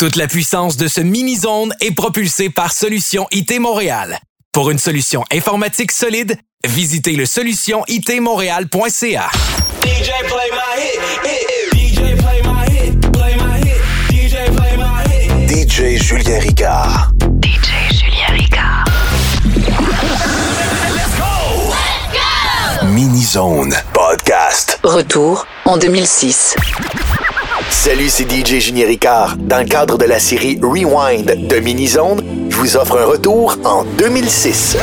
Toute la puissance de ce mini-zone est propulsée par Solutions IT Montréal. Pour une solution informatique solide, visitez le solutionitmontréal.ca. DJ play my hit, DJ play my hit, play my hit, DJ play my hit. DJ Julien Ricard. DJ Julien Ricard. Let's go! Mini-zone podcast. Retour en 2006. Salut, c'est DJ Julien Ricard. Dans le cadre de la série Rewind de Mini-zone, je vous offre un retour en 2006.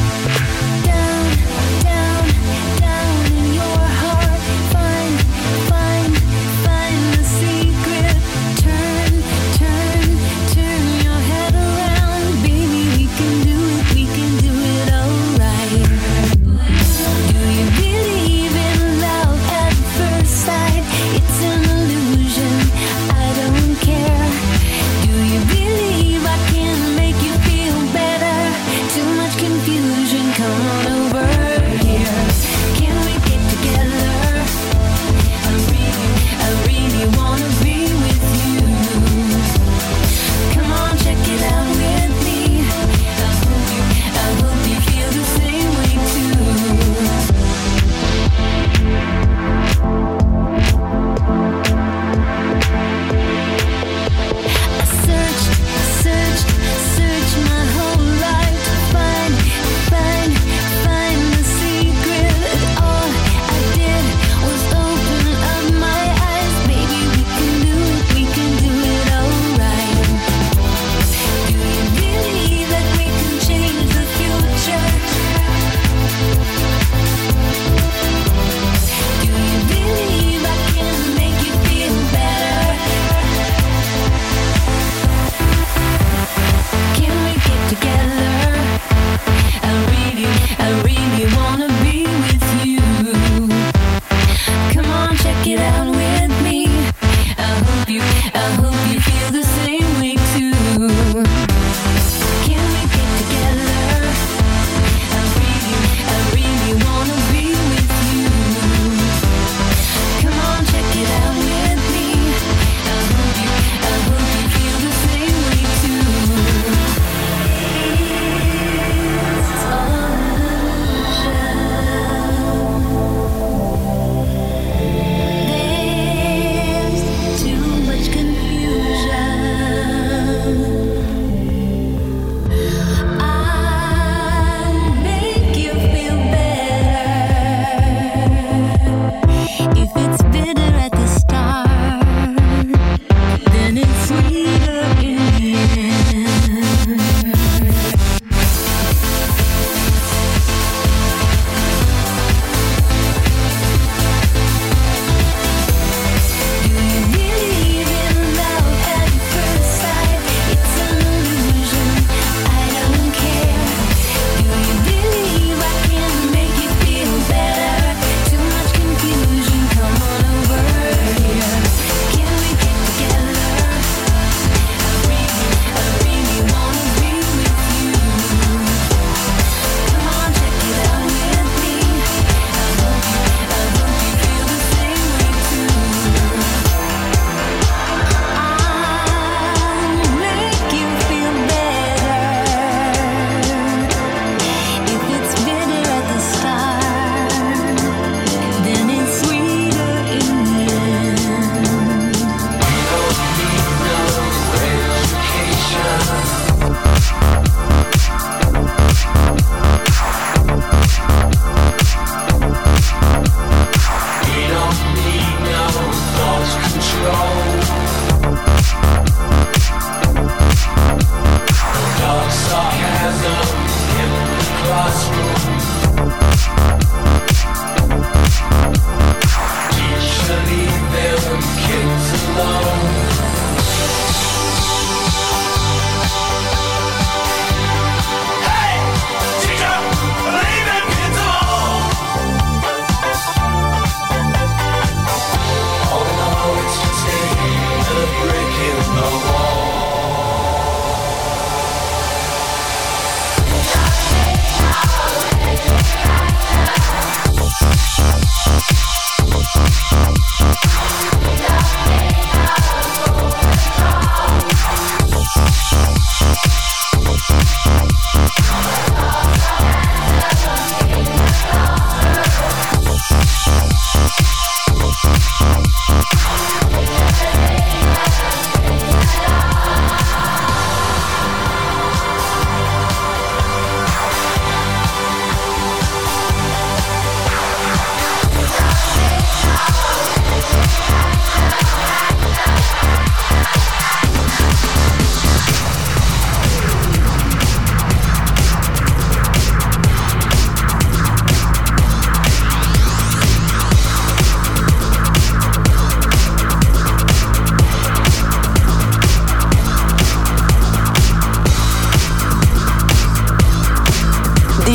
Down in your heart, find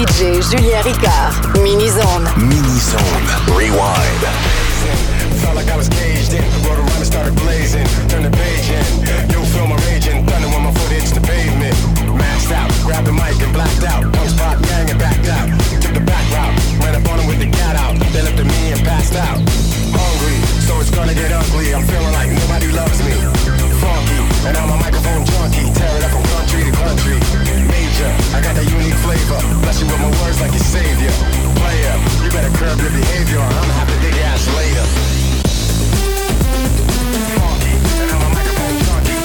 DJ Julien Ricard. Mini-Zone. Mini-Zone. Rewind. Felt like I was caged in. Wrote a rhyme and started blazing. Turn the page in. You feel my raging. Thunder when my foot hits the pavement. Maxed out. Grabbed the mic and blacked out. Punch pop, bang and backed out. Took the back route. Ran up on him with the cat out. They looked at me and passed out. Hungry, so it's gonna get ugly. I'm feeling like nobody loves me. Funky, and I'm a microphone junkie. Tear it up from country to country. Major, I got that unique flavor. Bless you with my words like your savior. Player, you better curb your behavior or I'm gonna have to dig your ass later. Funky, and I'm a microphone junkie.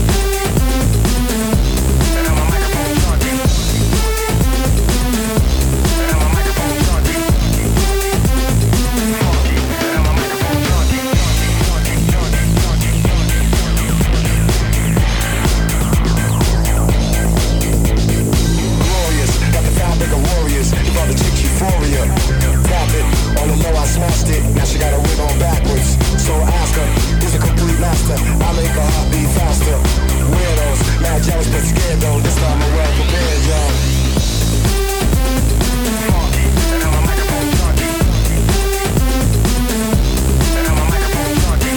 And I'm a microphone junkie. And I'm a microphone junkie. Funky, and I'm a microphone junkie. Glorious, got the fabric of warriors. You got the chick euphoria. Tap it, on the low I smashed it. Now she got a wig on backwards. So ask her, who's a complete master? I make her heart beat faster. Weirdos, mad jealous but scared though. This time I'm well prepared, y'all. Funky, and I'm a microphone junkie. And I'm a microphone junkie.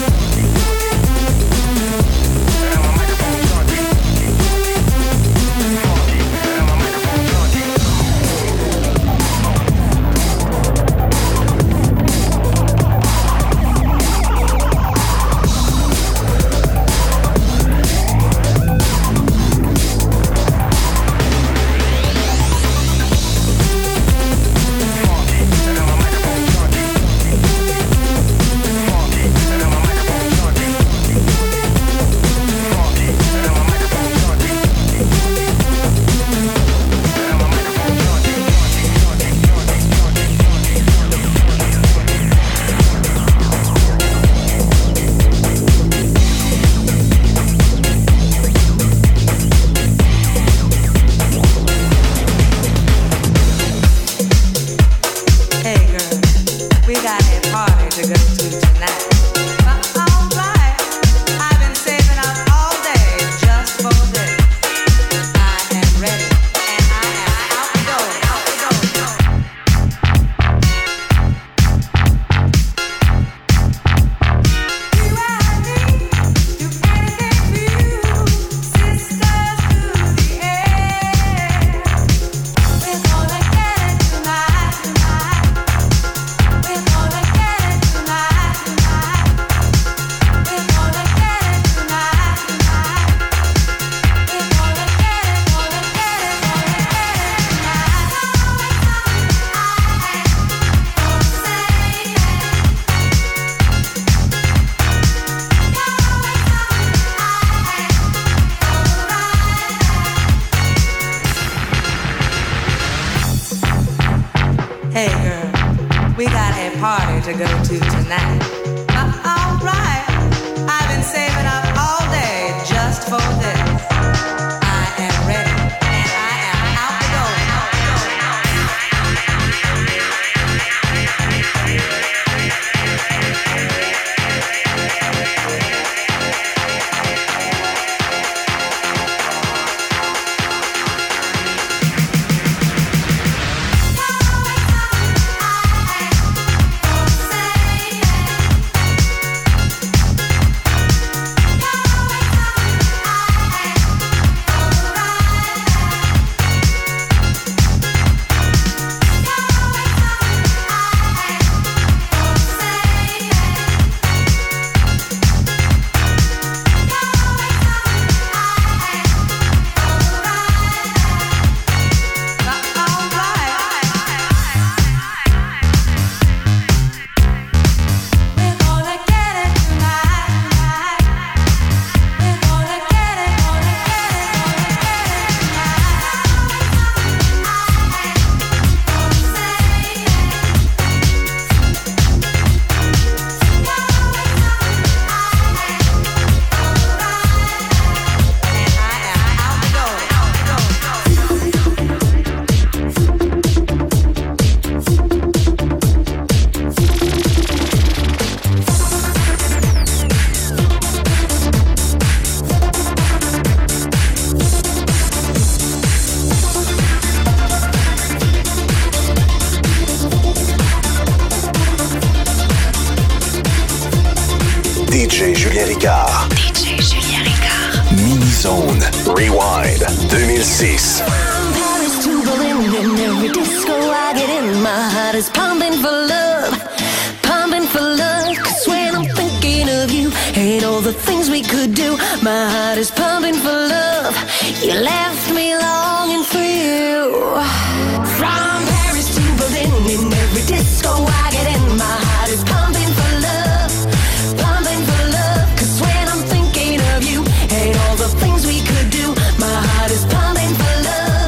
And I'm a microphone junkie. Funky, and I'm a microphone junkie. DJ Julien Ricard. DJ Julien Ricard. Mini-Zone. Rewind 2006. From Paris to Berlin, in every disco I get in, my heart is pumping for love, pumping for love. 'Cause when I'm thinking of you and all the things we could do, my heart is pumping for love. You left me longing for you. From Paris to Berlin, in every disco I get in, my heart is pumping for love, pumping for love. 'Cause when I'm thinking of you and all the things we could do, my heart is pumping for love.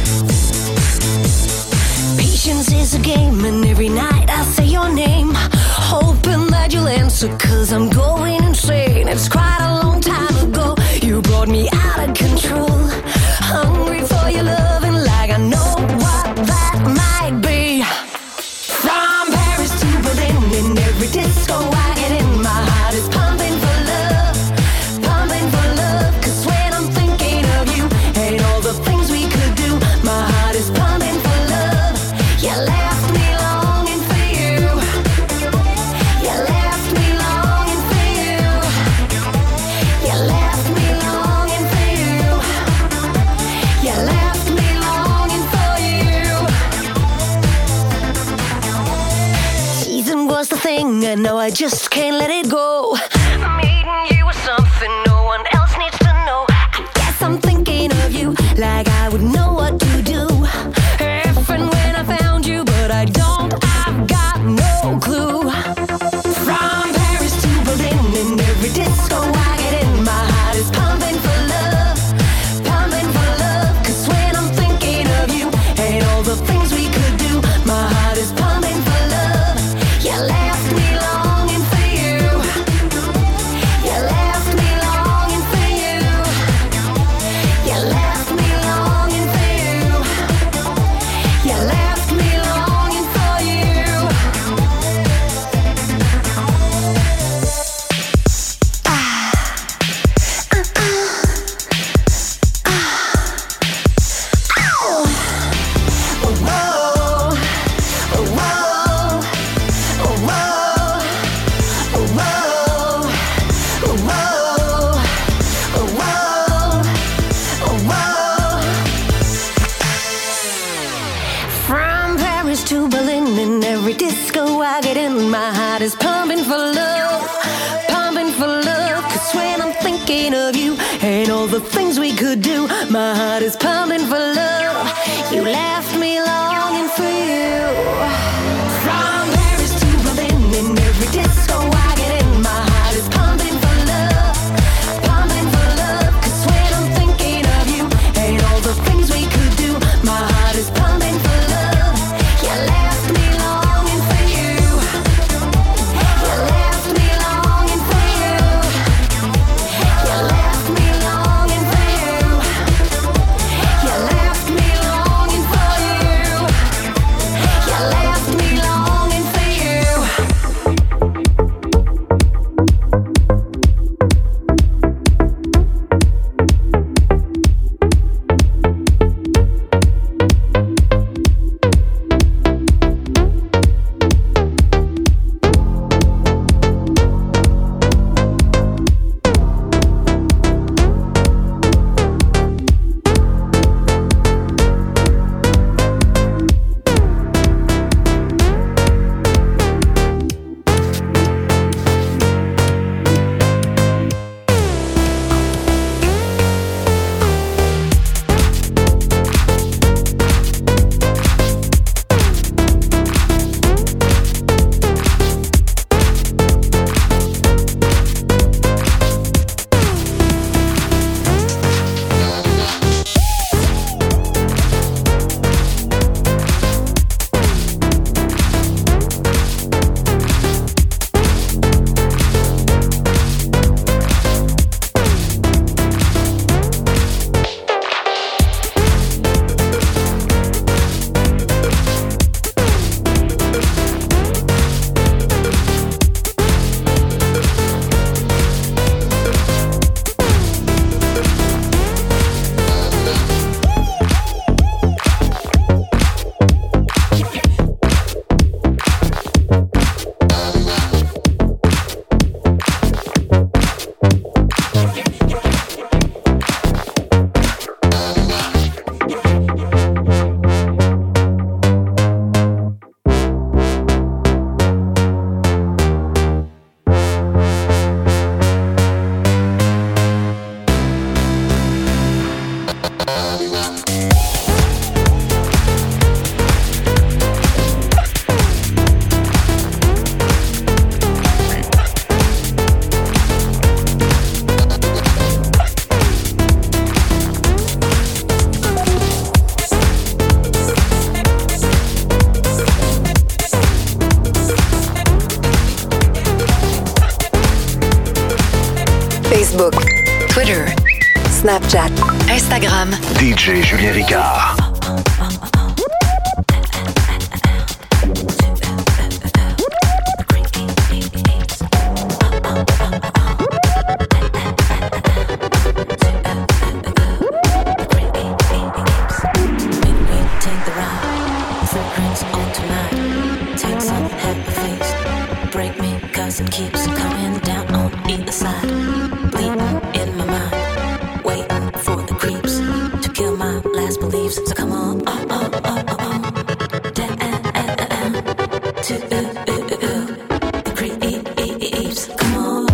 Patience is a game, and every night I say your name, hoping that you'll answer, 'cause I'm going insane. It's quite a long time ago, you brought me out of control, hungry for your love, and like I know what that might be. From Paris to Berlin, in every disco I get in, my heart is pumping for love, pumping for love. 'Cause when I'm thinking of you and all the things we could do, my heart is pumping for love. You left me longing for you. You left me longing for you. You left me longing for you. You left me longing for you. Season was the thing, and now I just can't let it go. Meeting you was something no one else needs to know. I guess I'm thinking of you like I would know what to do if and when I found you, but I don't, I've got no clue. From Paris to Berlin, in every disco I get in, my heart is pumping for love, pumping for love. 'Cause when I'm thinking of you and all the things we could do, my heart is pumping for love. You left me longing for you. You left me longing for you. You left me longing for you. You left me longing for you. From Paris to Berlin, in every disco I get in, my heart is pumping for love, pumping for love. 'Cause when I'm thinking of you and all the things we could do, my heart is pumping for love. You left me longing for you. From Paris to Berlin, in every disco I get in, my heart is pumping for love, pumping for love. 'Cause when I'm thinking of you and all the things we could do, my heart is pumping for love. You left me longing for you. You left me longing for you. You left me longing for you. You left me longing for you. Facebook, Twitter, Snapchat, Instagram. DJ Julien Ricard. It keeps coming down on either side, bleeding in my mind, waiting for the creeps to kill my last beliefs. So come on, down to the creeps. Come on.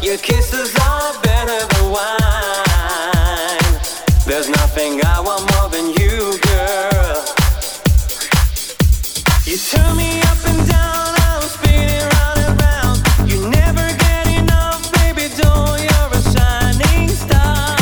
Your kisses are better than wine. There's nothing I want more than you, girl. You turn me up and down, I'm spinning round and round. You never get enough, baby doll, you're a shining star.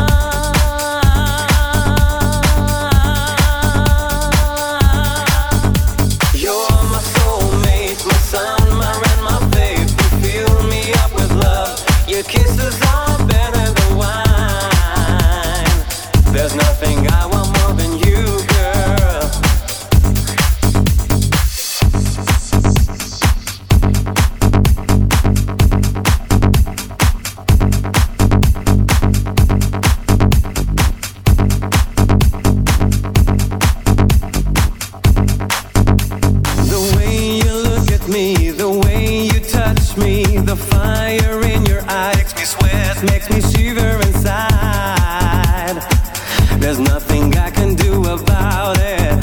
You're my soulmate, my sun, my rain, my faith. You fill me up with love. Your kisses are better than wine. There's nothing I want more than you, girl. The way you look at me, the way you touch me, the fire in your eyes makes me sweat, makes me shiver inside. There's nothing I can do about it,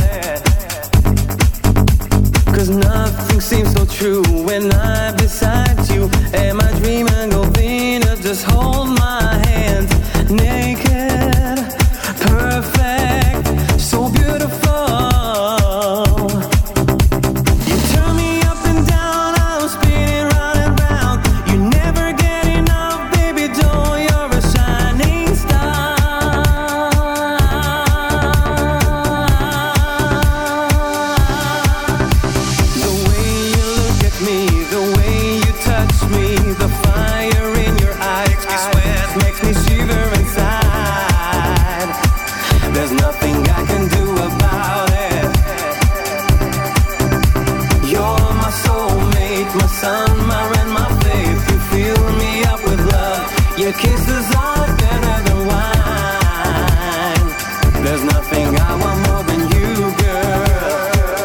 'cause nothing seems so true when I'm beside you. Am I dreaming of Venus? Just hold my hand, naked, perfect, so beautiful. You turn me up and down, I'm spinning round and round. You never get enough, baby doll, you're a shining star. The way you look at me, the way you touch me, the fire in your eyes makes me shiver inside. There's nothing I can do about it. You're my soulmate, my sun, my rain, my faith. You fill me up with love. Your kisses are better than wine. There's nothing I want more than you, girl.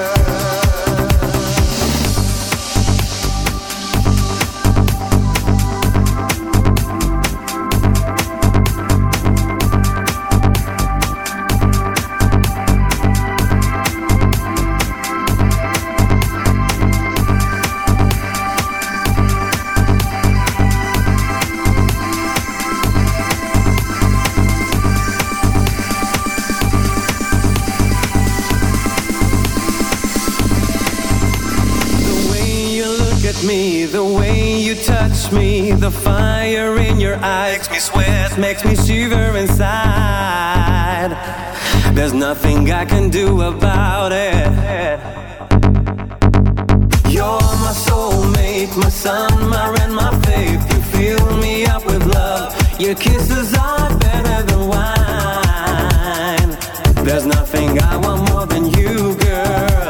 Me, the way you touch me, the fire in your eyes makes me sweat, makes me shiver inside. There's nothing I can do about it. You're my soulmate, my sun, my rain, my faith. You fill me up with love. Your kisses are better than wine. There's nothing I want more than you, girl.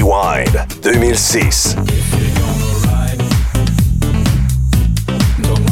Rewind 2006. If you're gonna ride, don't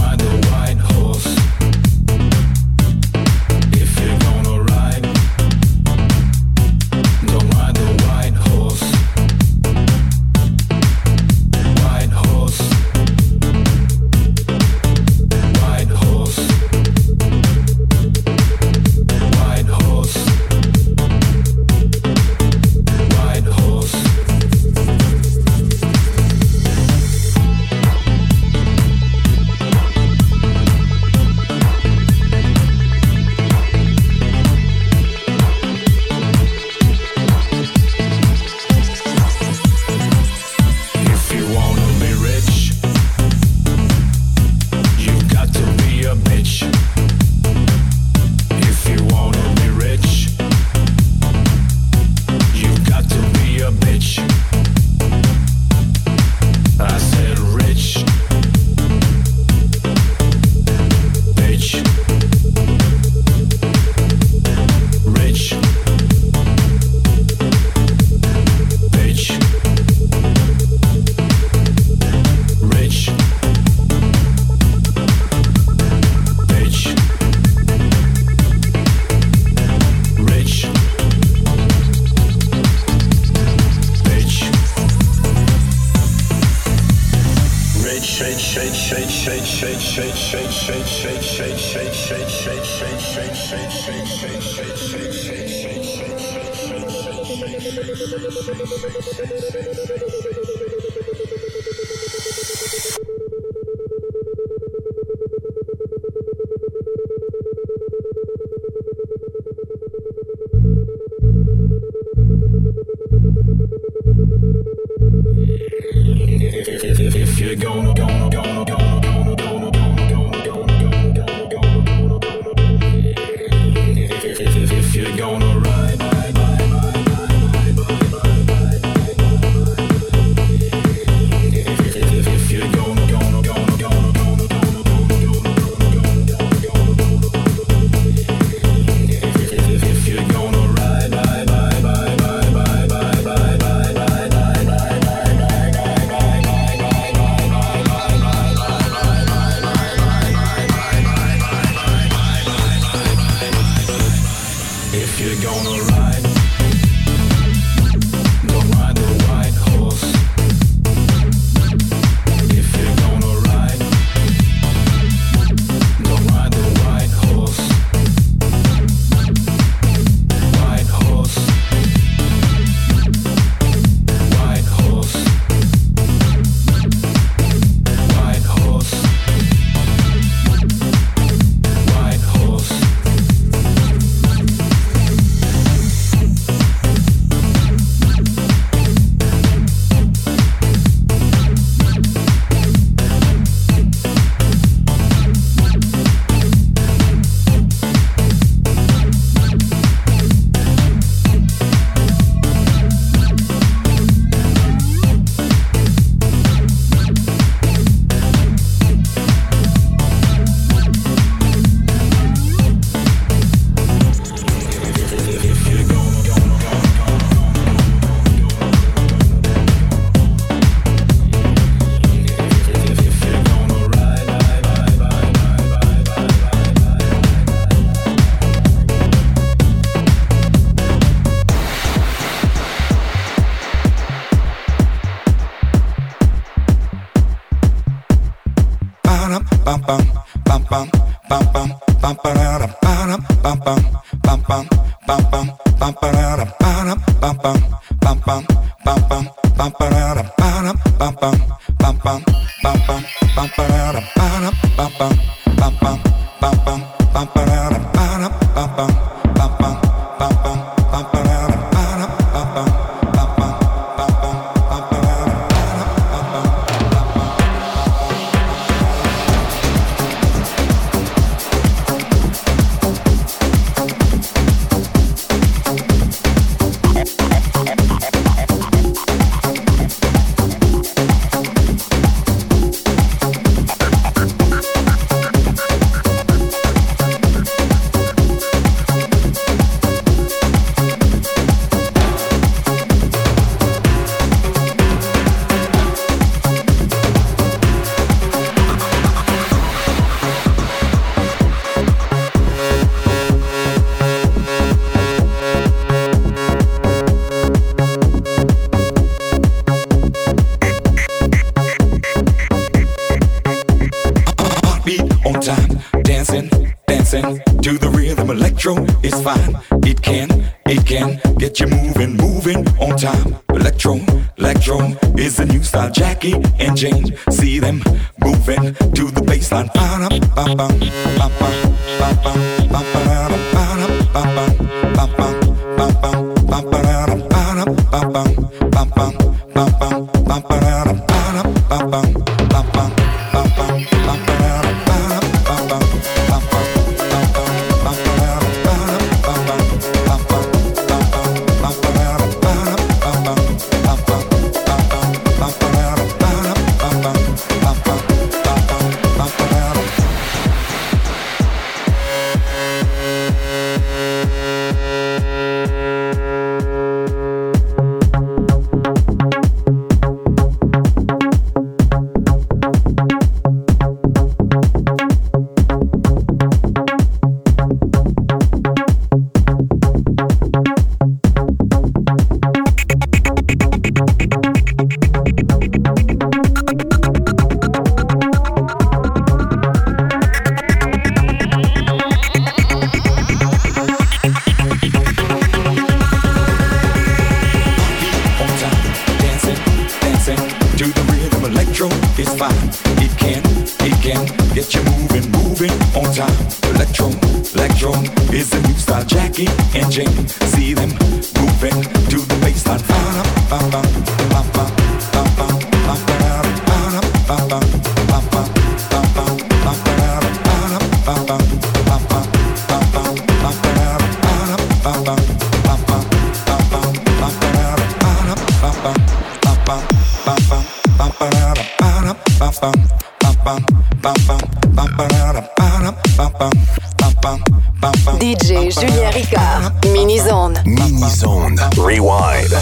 get you moving, moving on time. Electro is the new style. Jackie and Jane, see them moving to the baseline. DJ Julien Ricard, Mini-Zone. Mini-Zone. Rewind.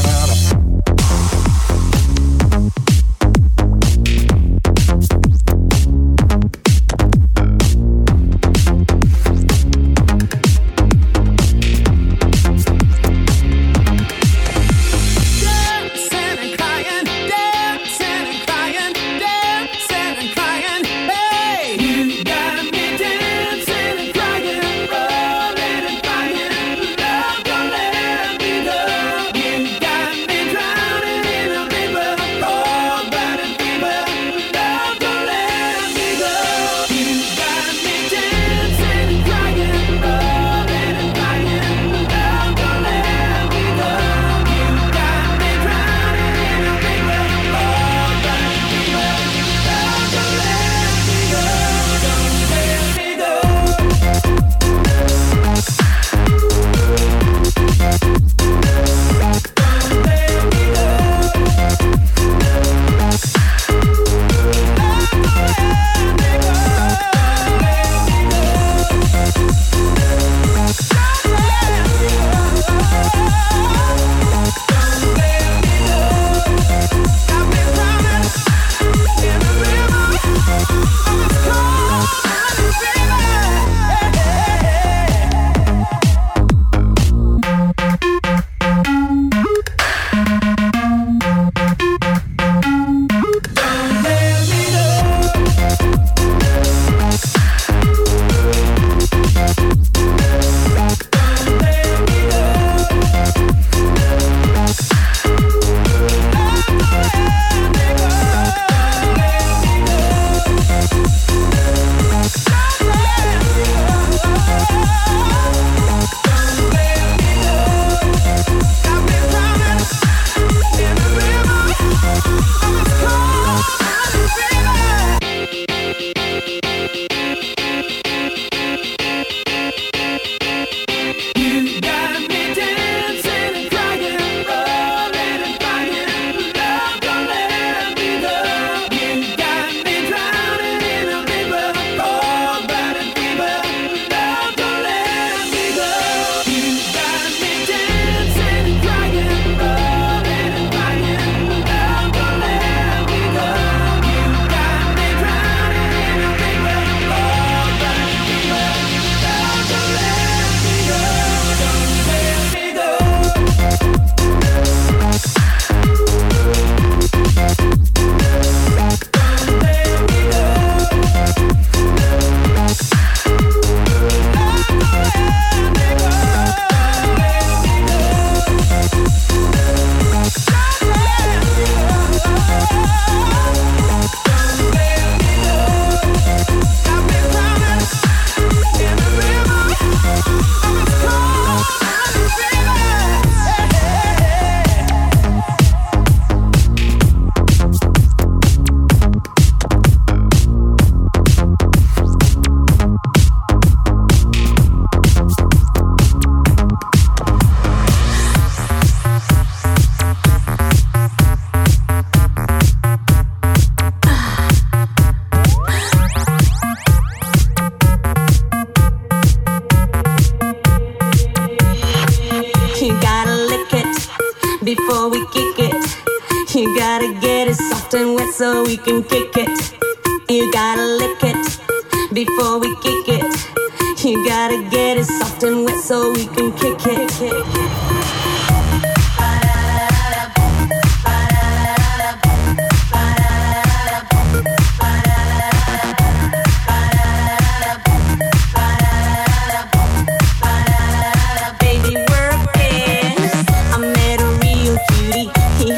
before we kick it. You gotta get it soft and wet so we can kick it. You gotta lick it before we kick it. You gotta get it soft and wet so we can kick it.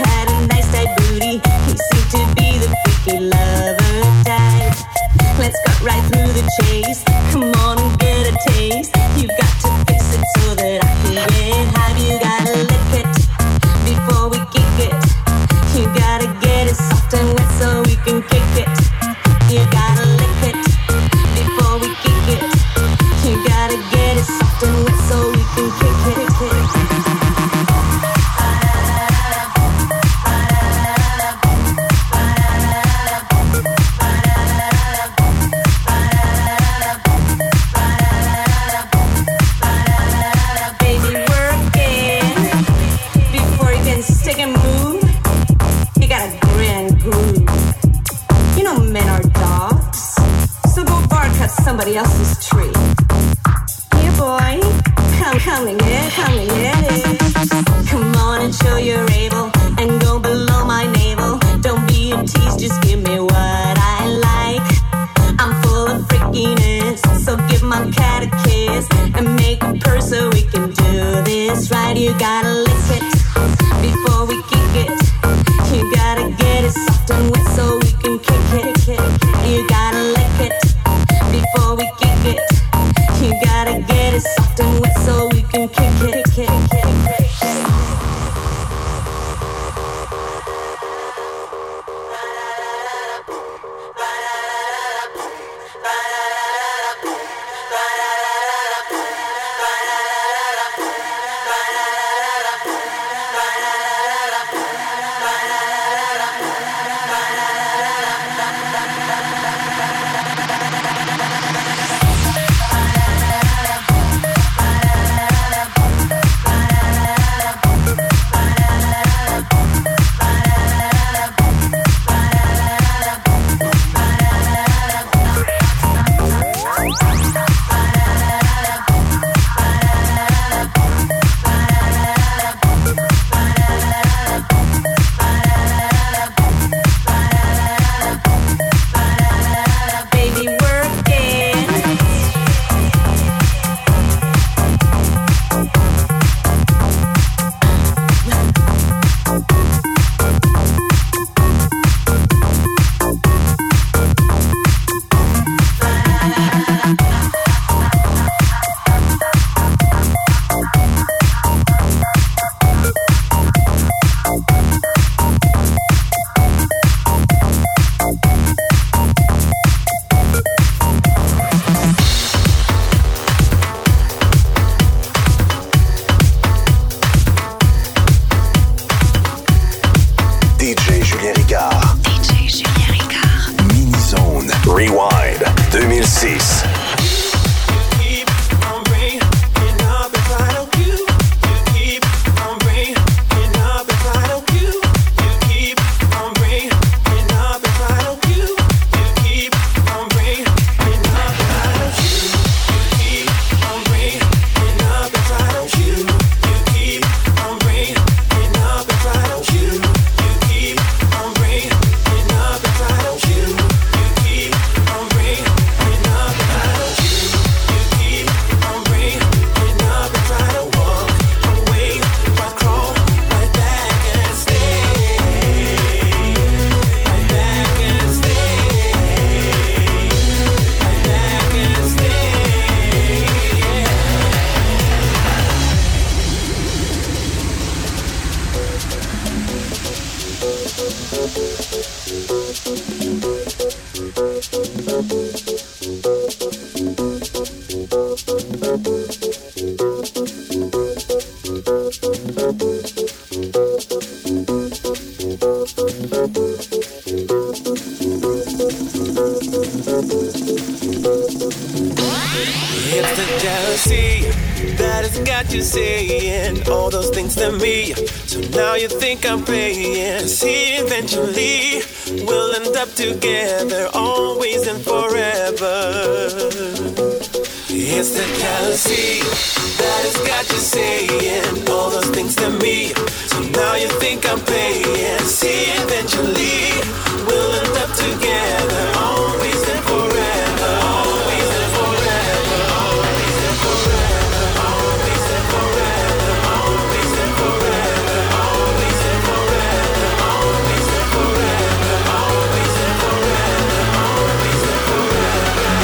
Let's go. right through the chase. Come on and get a taste. You've got to fix it so that I can get high. You gotta lick it before we kick it. You gotta get it soft and wet so we can kick it. You gotta lick it before we kick it. You gotta get it soft and wet so we can kick it. Somebody else's tree. Here, boy, come and get it. Come on and show you're able, and go below my navel. Don't be a tease, just give me what I like. I'm full of freakiness, so give my cat a kiss and make a purr so we can do this right. You gotta lick it before we kick it. You gotta get it soft and wet so we can kick it. You gotta lick it before we kick it. You gotta get it soft and wet so we can kick it. It's the jealousy that has got you saying all those things to me. So now you think I'm playing. See, eventually we'll end up together, always and forever. It's the jealousy that has got you saying all those things to me. So now you think I'm playing. See, eventually we'll end up together, always and forever. Always and forever. Always and forever. Always and forever. Always and forever. Always and forever. Always and forever. Always and forever. Always and forever.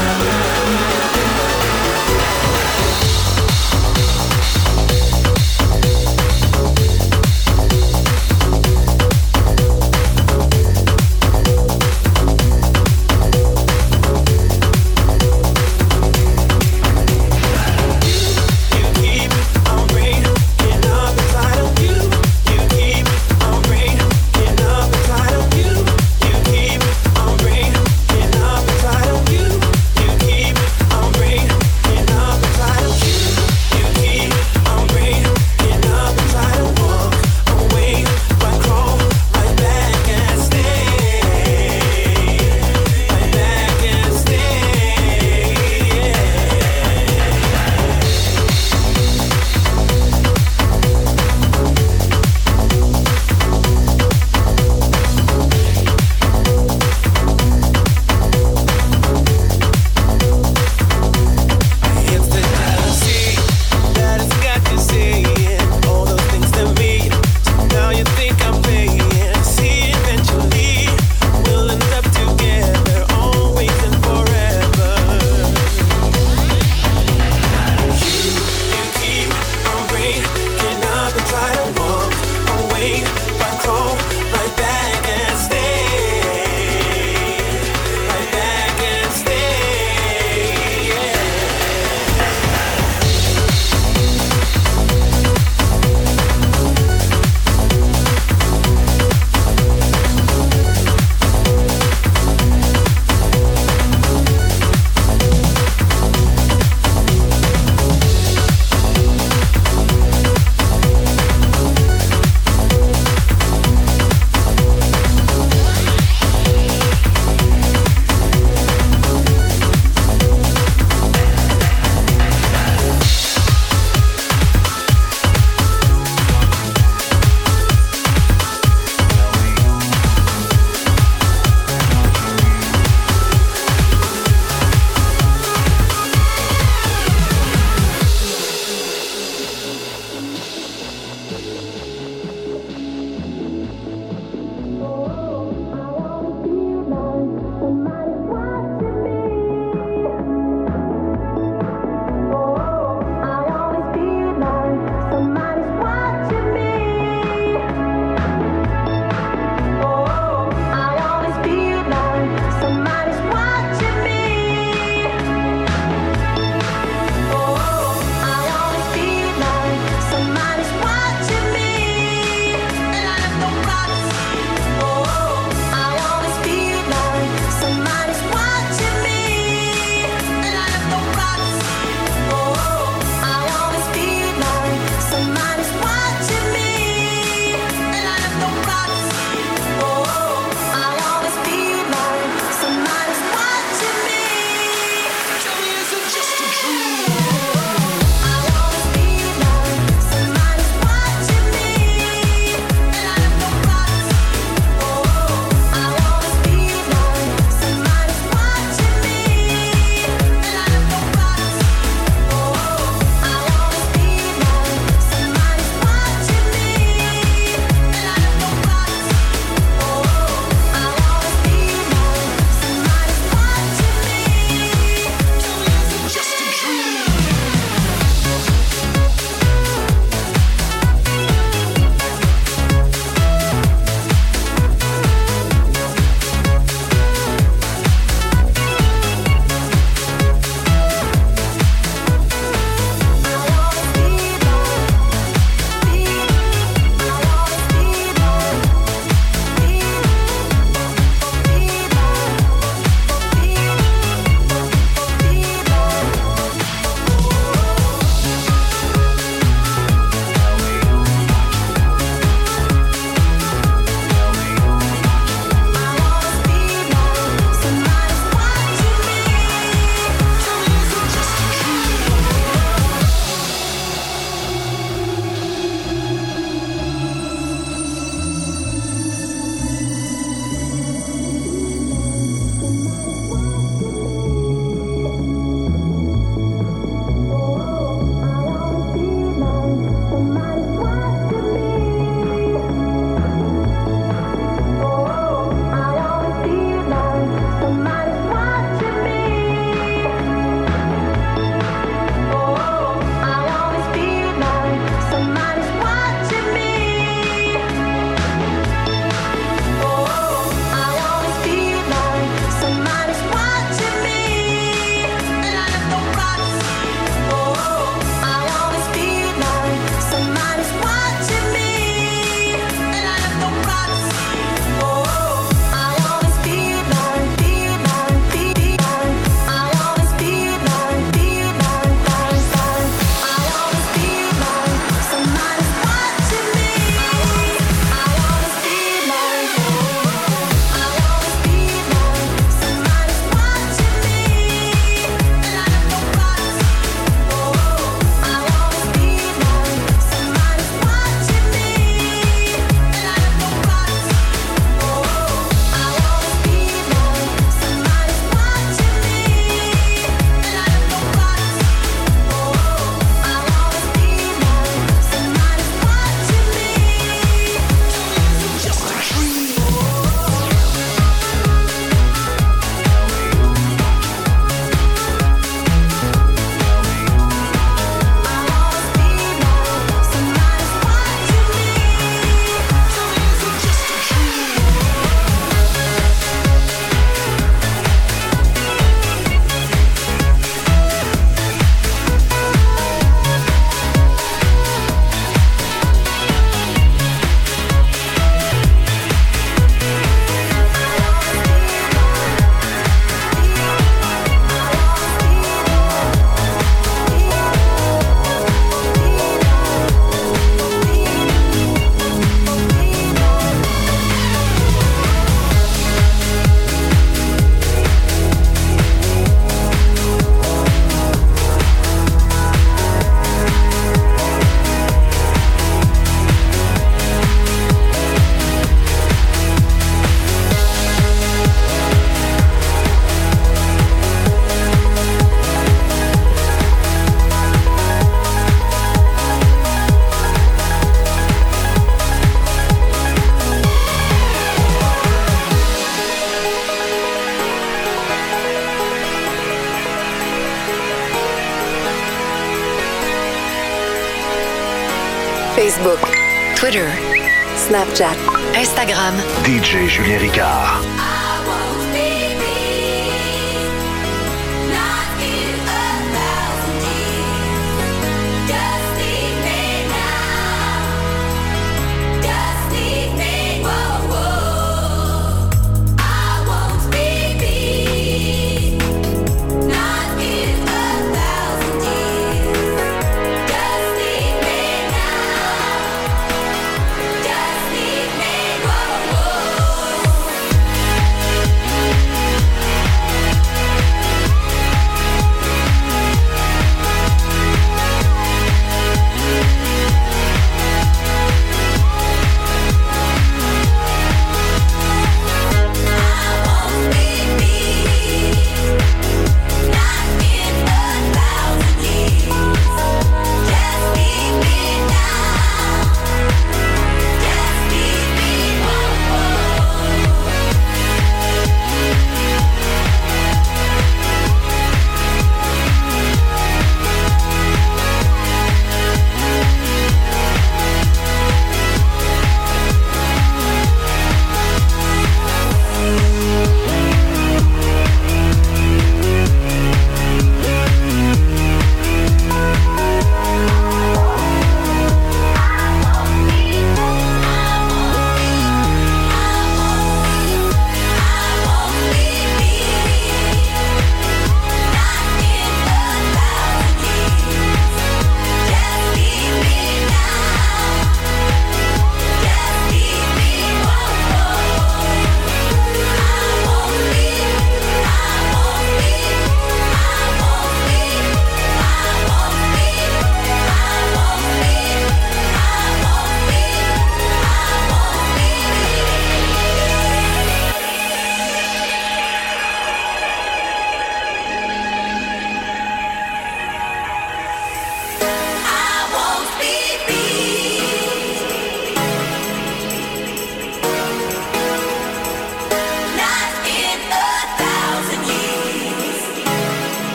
Facebook, Twitter, Snapchat, Instagram. DJ Julien Ricard.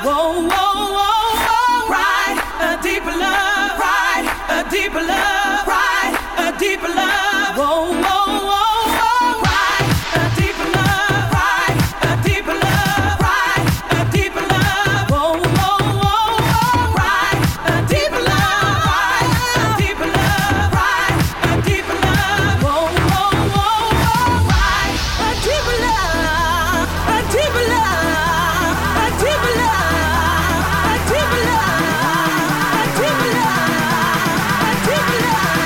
Whoa, whoa, whoa, whoa. Right, a deeper love. Right, a deeper love. Right, a deeper love. Whoa, whoa, whoa, whoa. Right, a deeper love. Right, a deeper love. Right, a deeper love. Whoa, whoa, whoa, whoa. Right, a deeper love. Right, a deeper love. Right, a deeper love. Whoa, whoa, whoa, whoa. Right, a deeper love. A deeper love. A deeper love. A deeper love. A deeper love. A deeper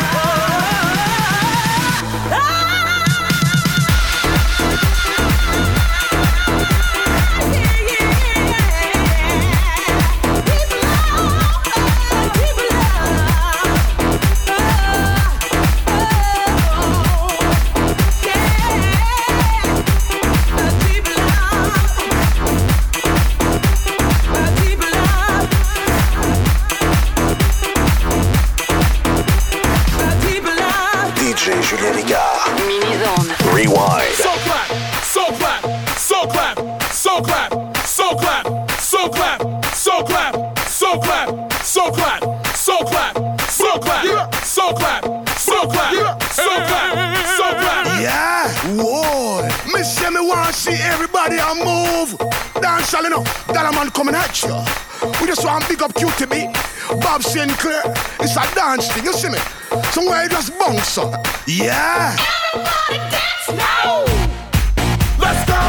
DJ Julien Ricard. Mini-zone. Rewind. So clap, so clap, so clap, so clap, so clap, so clap, so clap, so clap, so clap, so clap, so clap, so clap, so clap, so clap, so clap. Yeah, whoa. Me say me want see everybody a move. Dance all enough, that a man coming at you. We just want big up QTB, Bob Sinclair. It's a dance thing, you see me? Somewhere you just bounce up. Yeah. Everybody dance now. Let's go.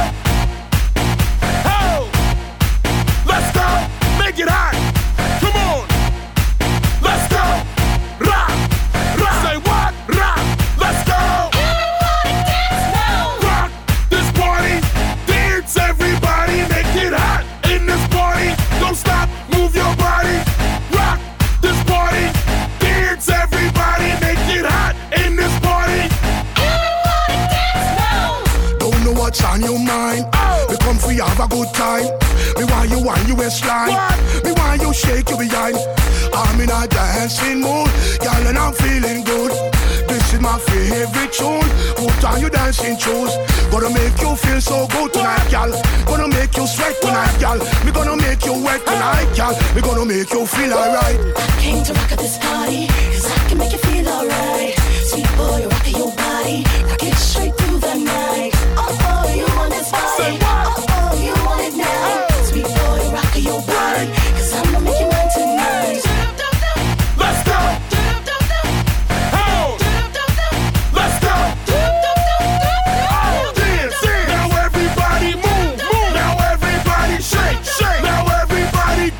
Ho. Let's go. Make it hot. Come on. Let's go. Rock. Rock. Say what? Rock. Let's go. Everybody dance now. Rock this party. Dance everybody. Make it hot in this party. Don't stop. Move your body. Rock this party. Dance everybody. Make it hot in this party. Everybody dance now. Don't know what's on your mind. We come for you have a good time. Me want you on your waistline. Me want you shake your behind. I'm in a dancing mood, girl, and I'm feeling good. This is my favorite tune. Put on your dancing shoes. Gonna make you feel so good tonight, girl. Gonna make you sweat tonight, girl. Me gonna make you wet tonight, girl. Me gonna make you feel alright. I came to rock at this party, cause I can make you feel alright. Sweet boy, rock your body, rock it straight through the night. Oh, you want this body? Oh, you want it now? Sweet boy, rock your body, cause I'm gonna make you mine tonight. Let's go. Ho. Let's go. Dance. Now everybody move. Now everybody shake. Now everybody.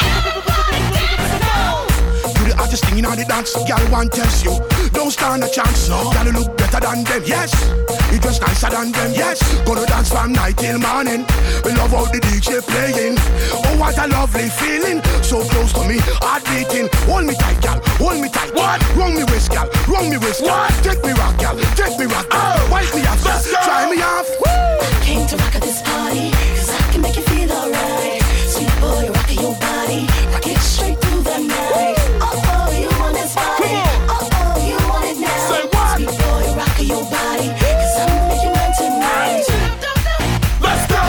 You the hottest thing in all the dance, girl, one test you. Don't stand a chance, no. Girl, you look better than them, yes. You dress nicer than them, yes. Gonna dance from night till morning. We love how the DJ playing. Oh, what a lovely feeling. So close to me, heart beating. Hold me tight, girl, hold me tight. What? Wrong me waist, girl, wrong me waist, girl. What? Take me rock, girl, take me rock, girl. Oh. Wipe me off, Let's go. try me off. I came to rock at this party, cause I can make you feel alright. Sweet boy, rock your body, rock it straight through the night. Oh, you want this body? Oh, you want it now? Say what? Sweet boy, rock your body, cause I'm gonna make you mine tonight. Let's go.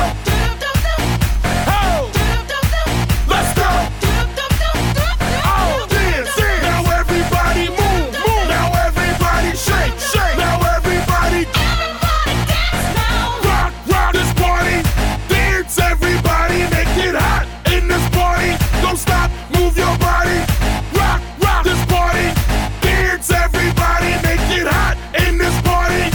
Ho. Let's go. Oh, dance. Now everybody move. Now everybody shake. Now everybody. Dance now. Rock this party. Dance everybody. Make it hot in this party. Don't stop. Move your body. Rock this party. Dance everybody. Make it hot in this party.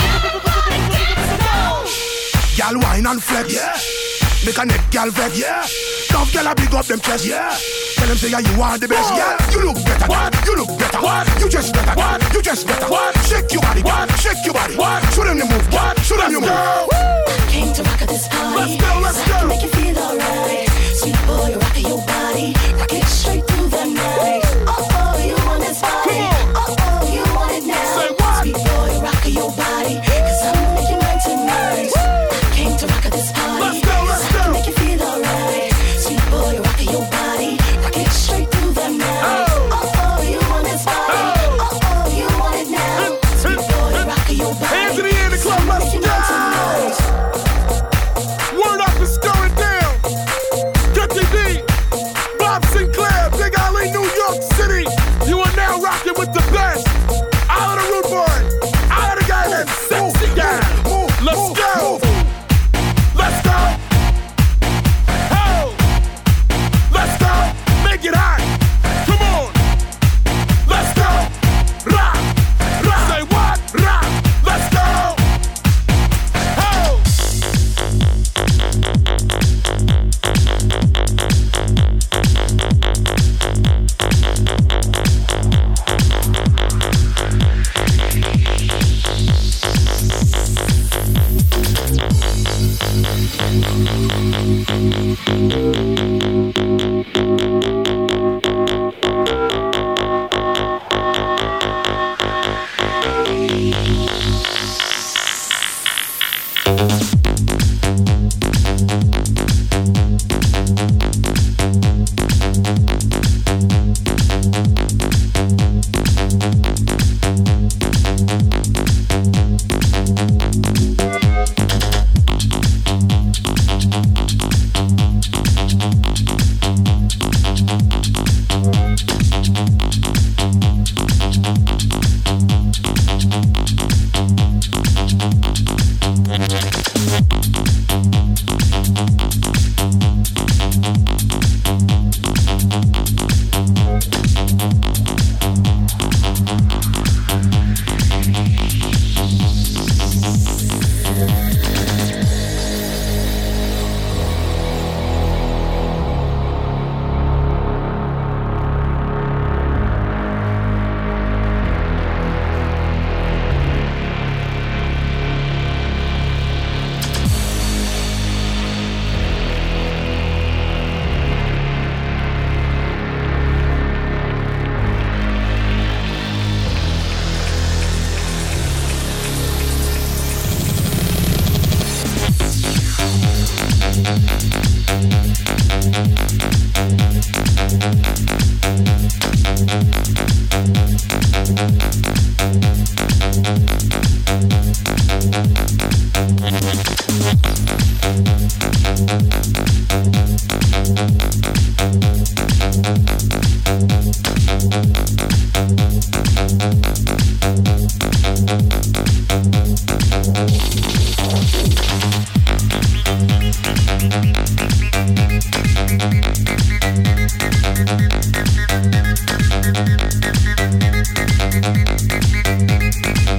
Girl, wine and flex. Yeah. Make a neck, girl, vex. Yeah. Tough girl, I big up them chest. Yeah. Tell them say yeah, you are the best. Yeah. You look better. What? You look better. What? You just better. What? You just better. What? Shake your body. What? Shake your body. What? Show them you move. What? Show them you Let's move. go. Came to rock at this party, Let's go, let's cause I go. can make you feel alright. Sweet boy, rock your body, rock it straight through the night. Oh, you want this body? Oh, you want it now? Say what? Sweet boy, rock your body, cause I'm gonna make you mine tonight. Came to rock at this party, Let's go, let's cause I can go. make you feel alright. Sweet boy, rock your body, rock it straight through the night. Oh, you want this body? Oh, you want it now?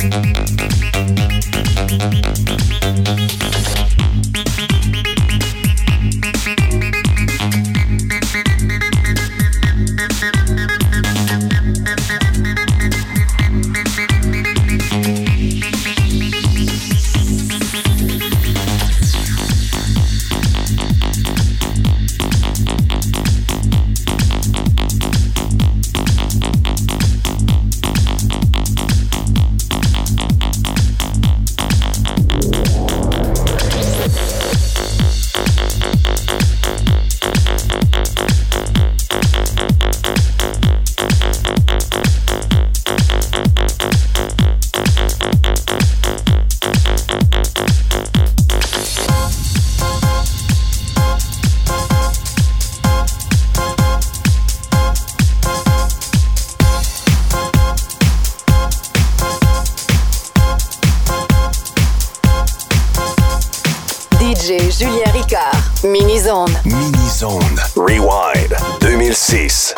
DJ Julien Ricard. Mini-Zone. Mini-Zone. Rewind 2006.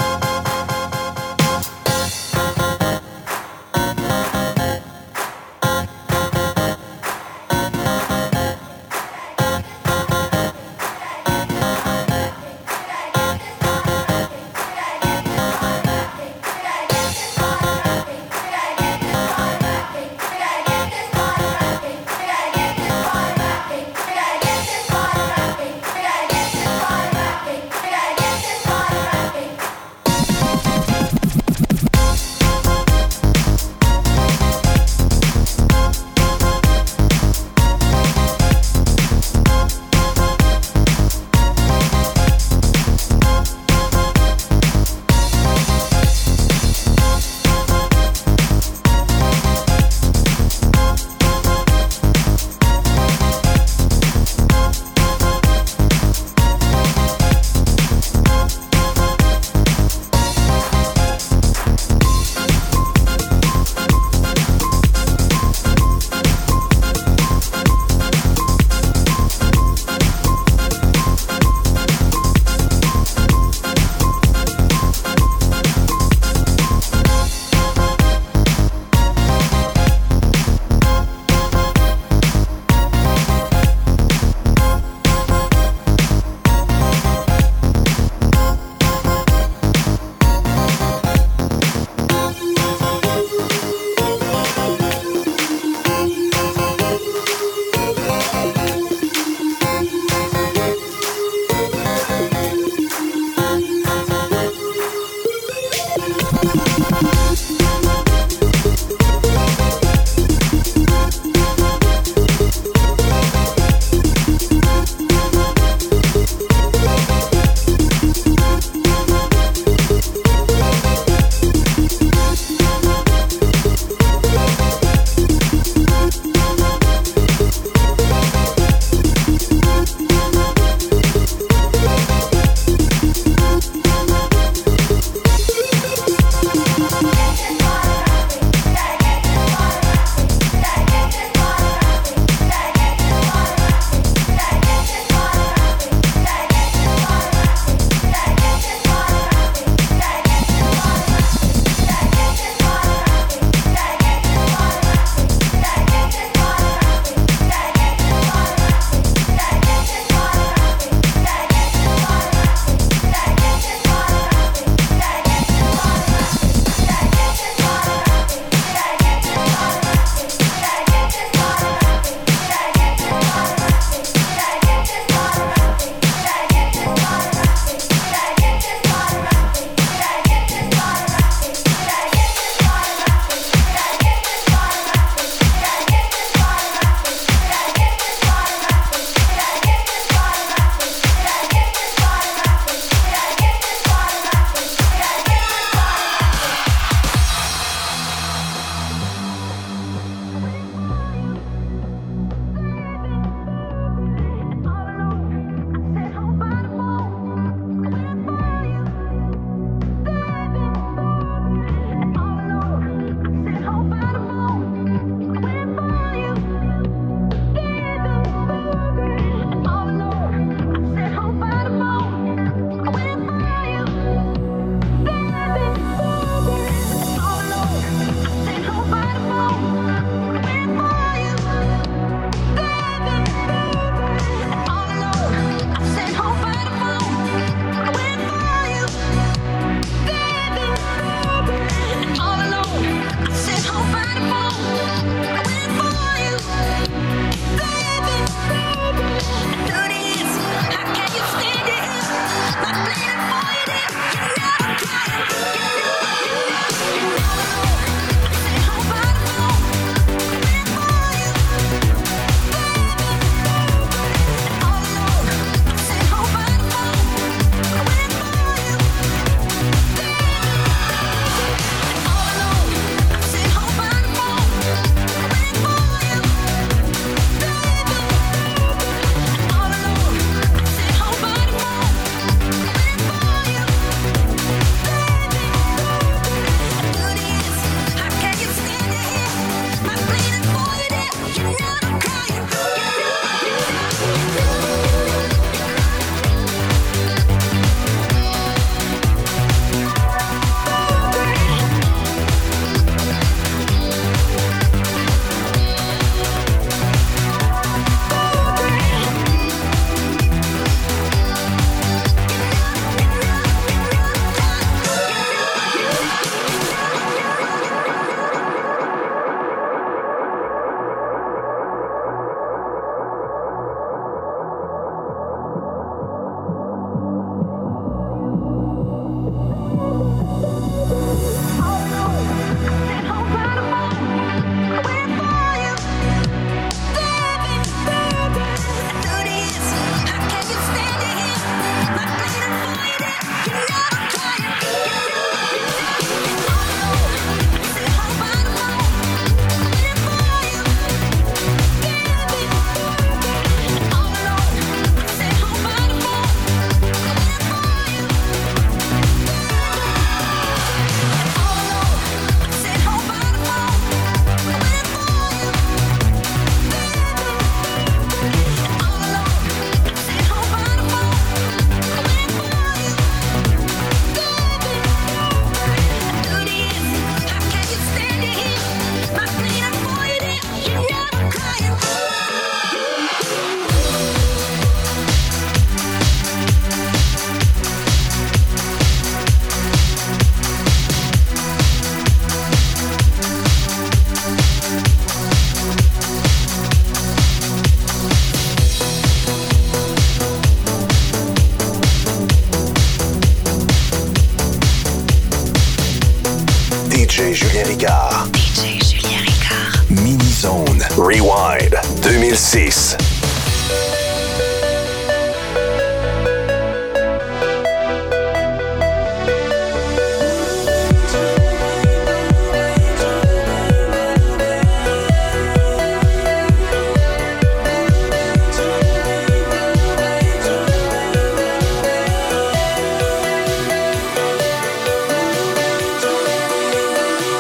DJ Julien Ricard. DJ Julien Ricard. Mini-Zone. Rewind 2006.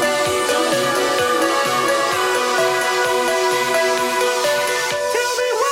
Tell me why.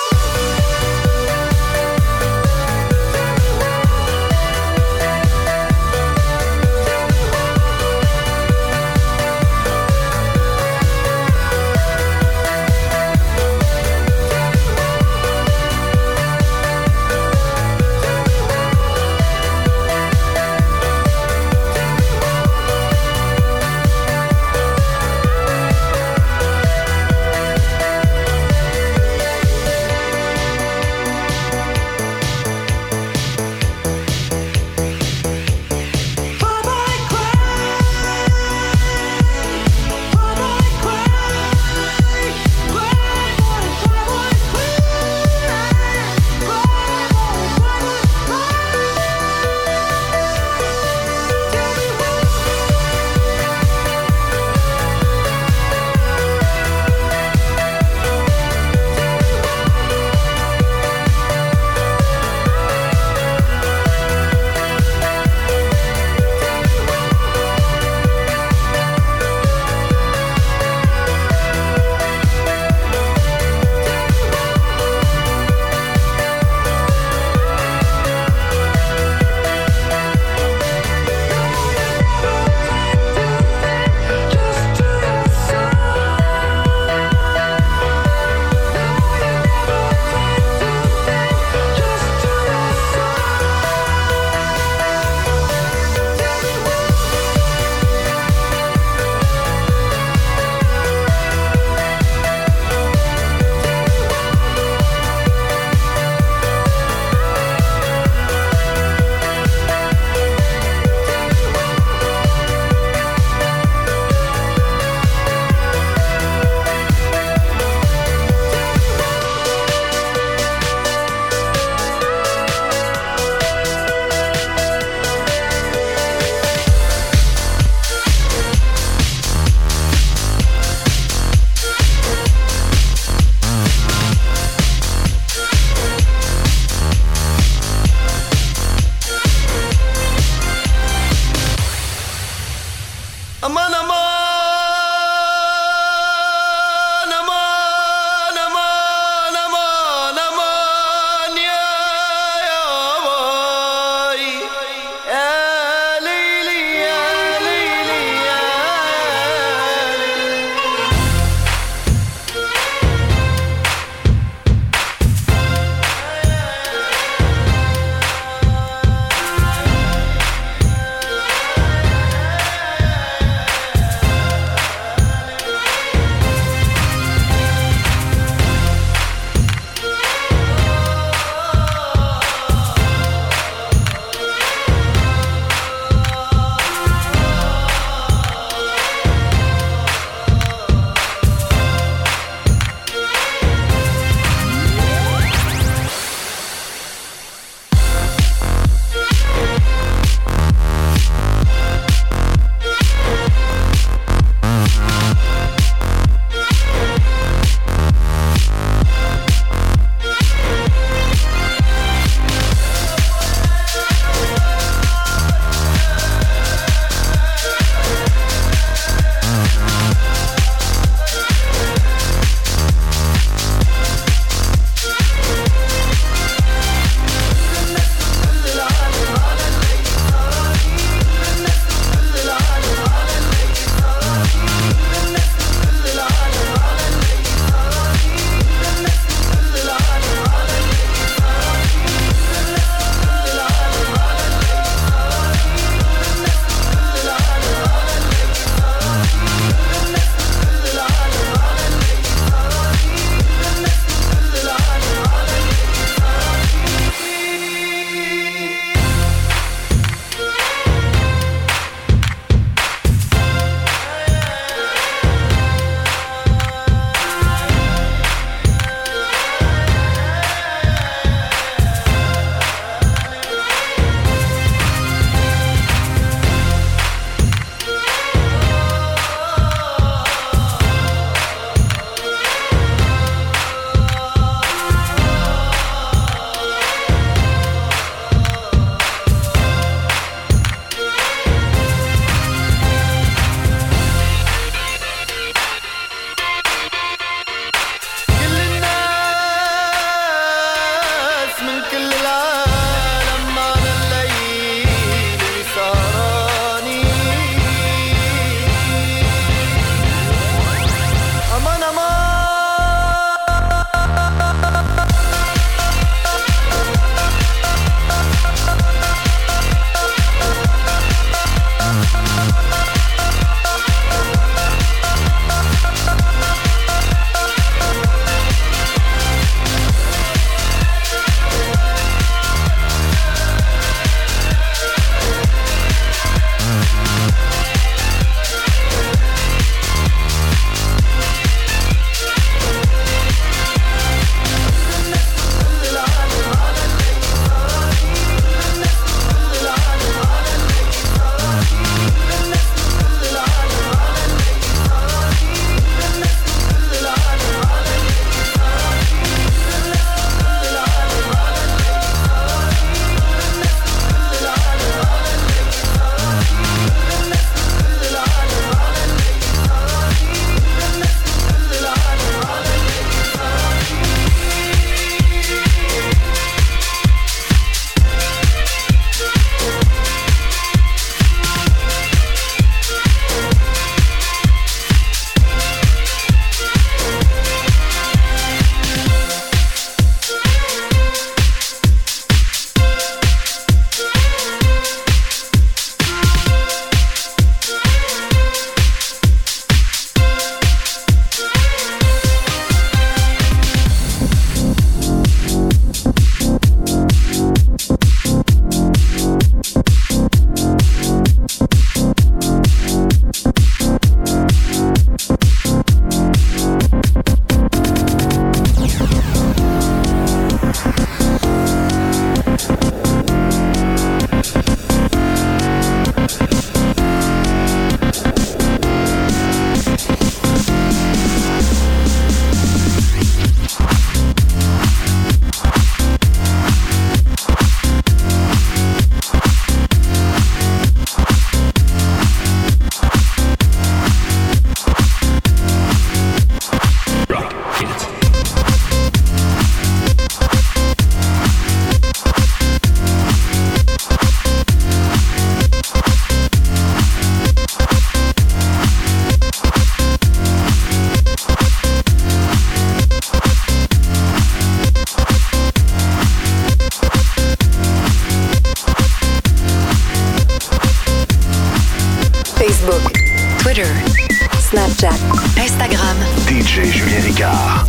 Ricard.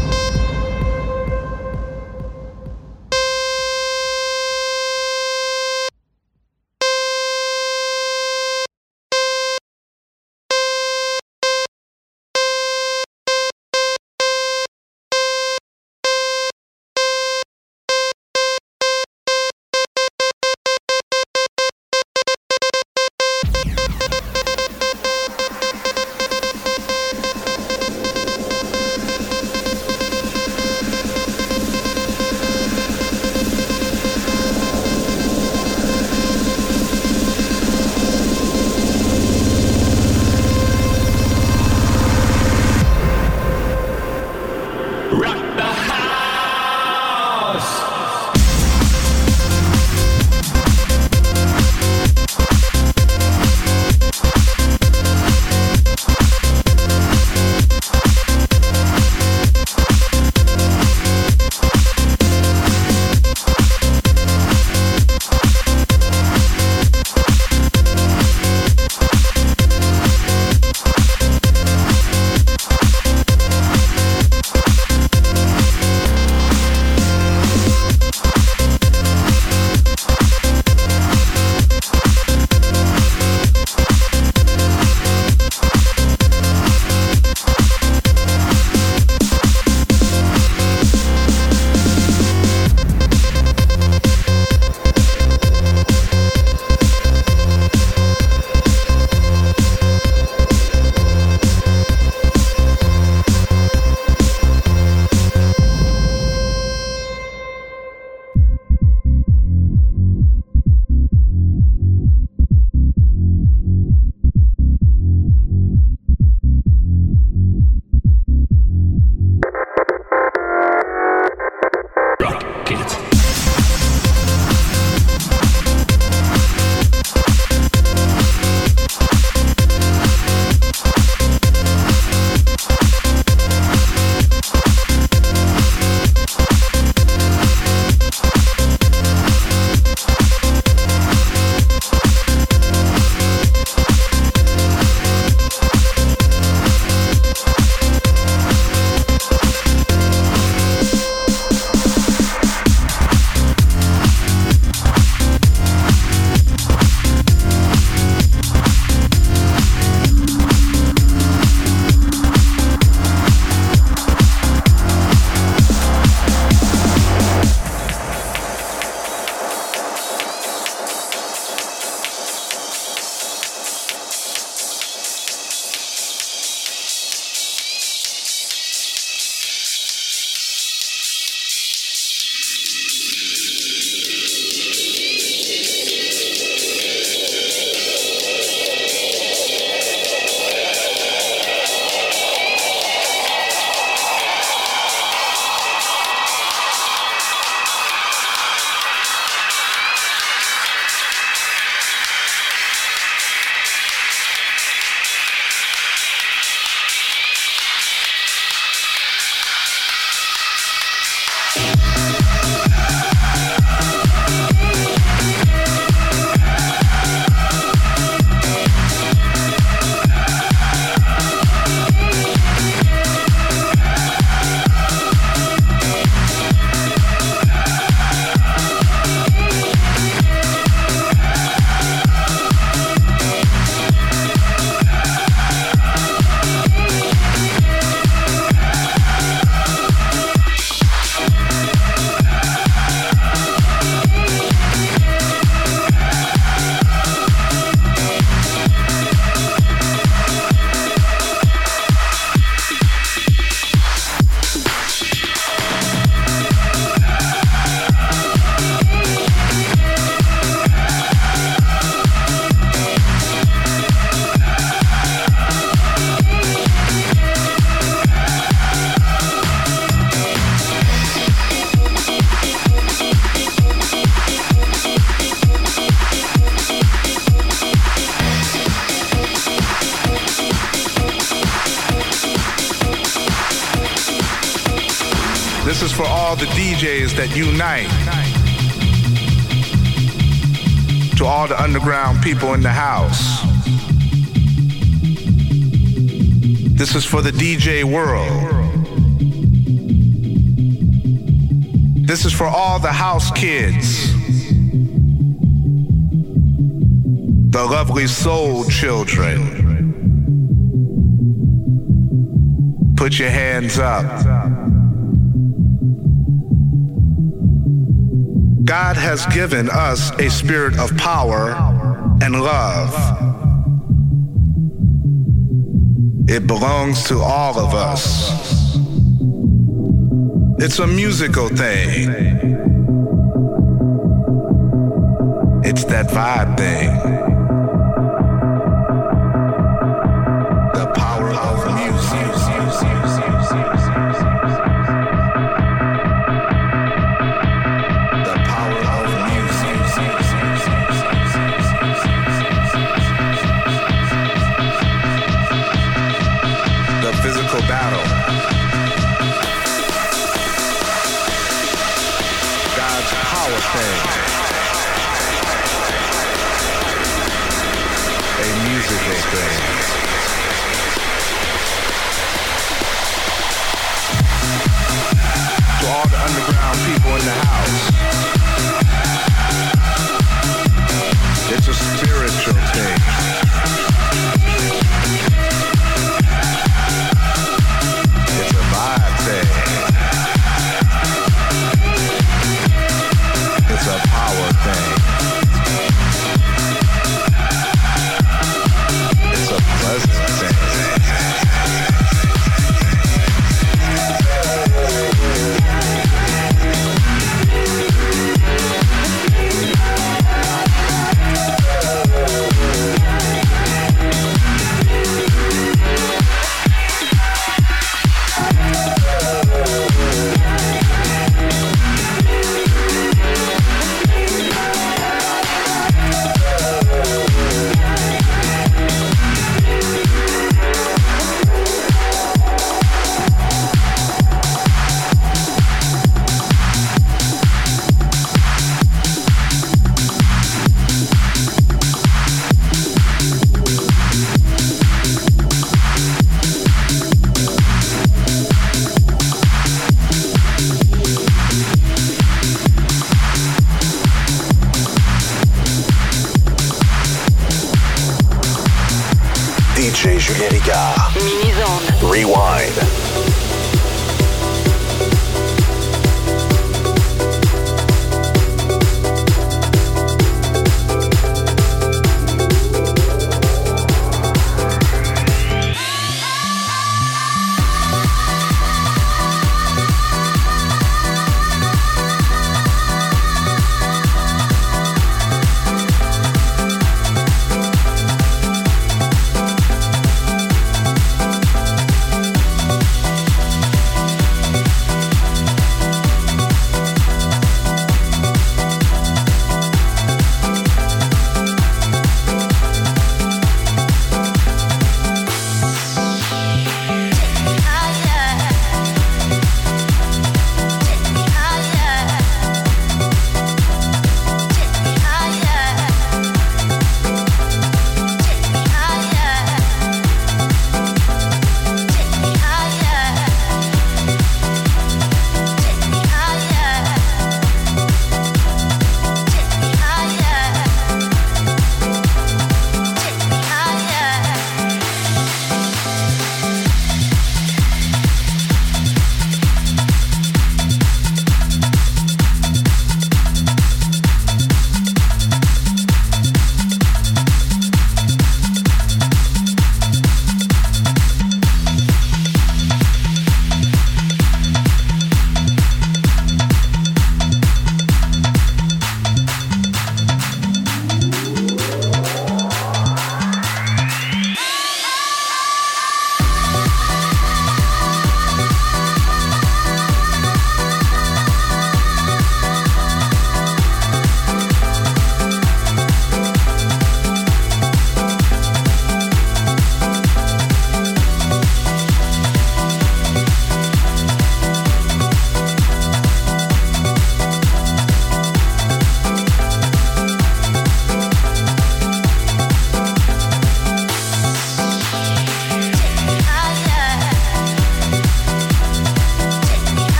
This is for all the DJs that unite. To all the underground people in the house. This is for the DJ world. This is for all the house kids, the lovely soul children. Put your hands up. God has given us a spirit of power and love. It belongs to all of us. It's a musical thing. It's that vibe thing. The power of music. The power of music. The physical battle. Power thing. A musical thing. To all the underground people in the house, it's a spiritual thing. It's a vibe thing. It's a power thing. It's a pleasant thing. DJ Julien Ricard. Mini-zone. Rewind.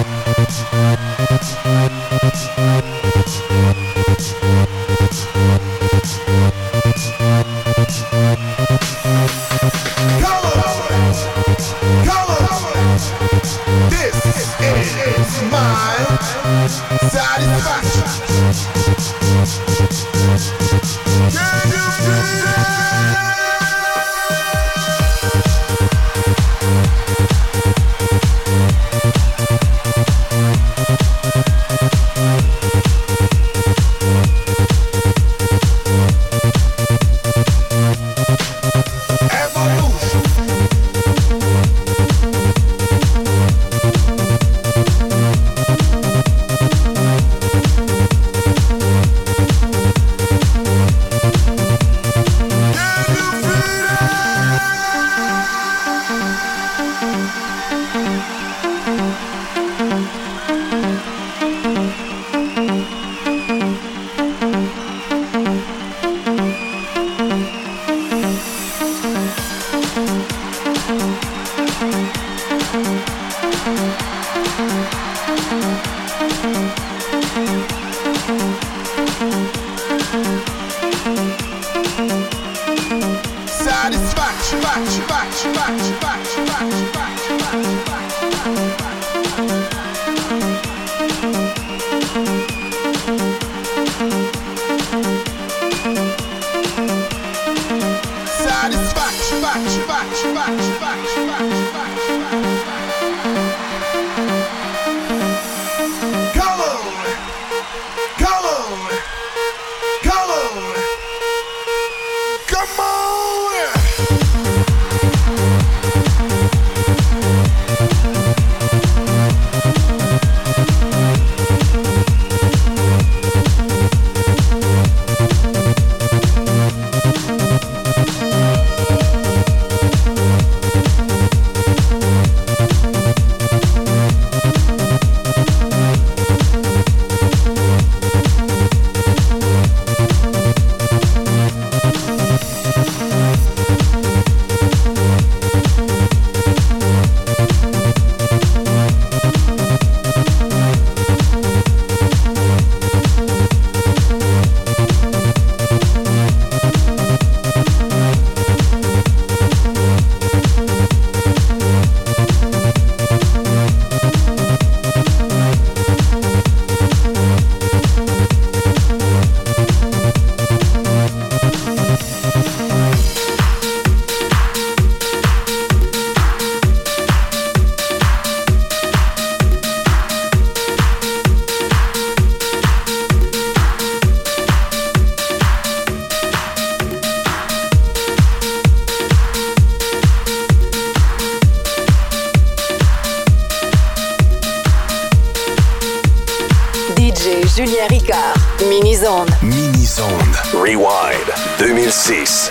Julien Ricard, Mini-Zone. Mini-Zone. Rewind 2006.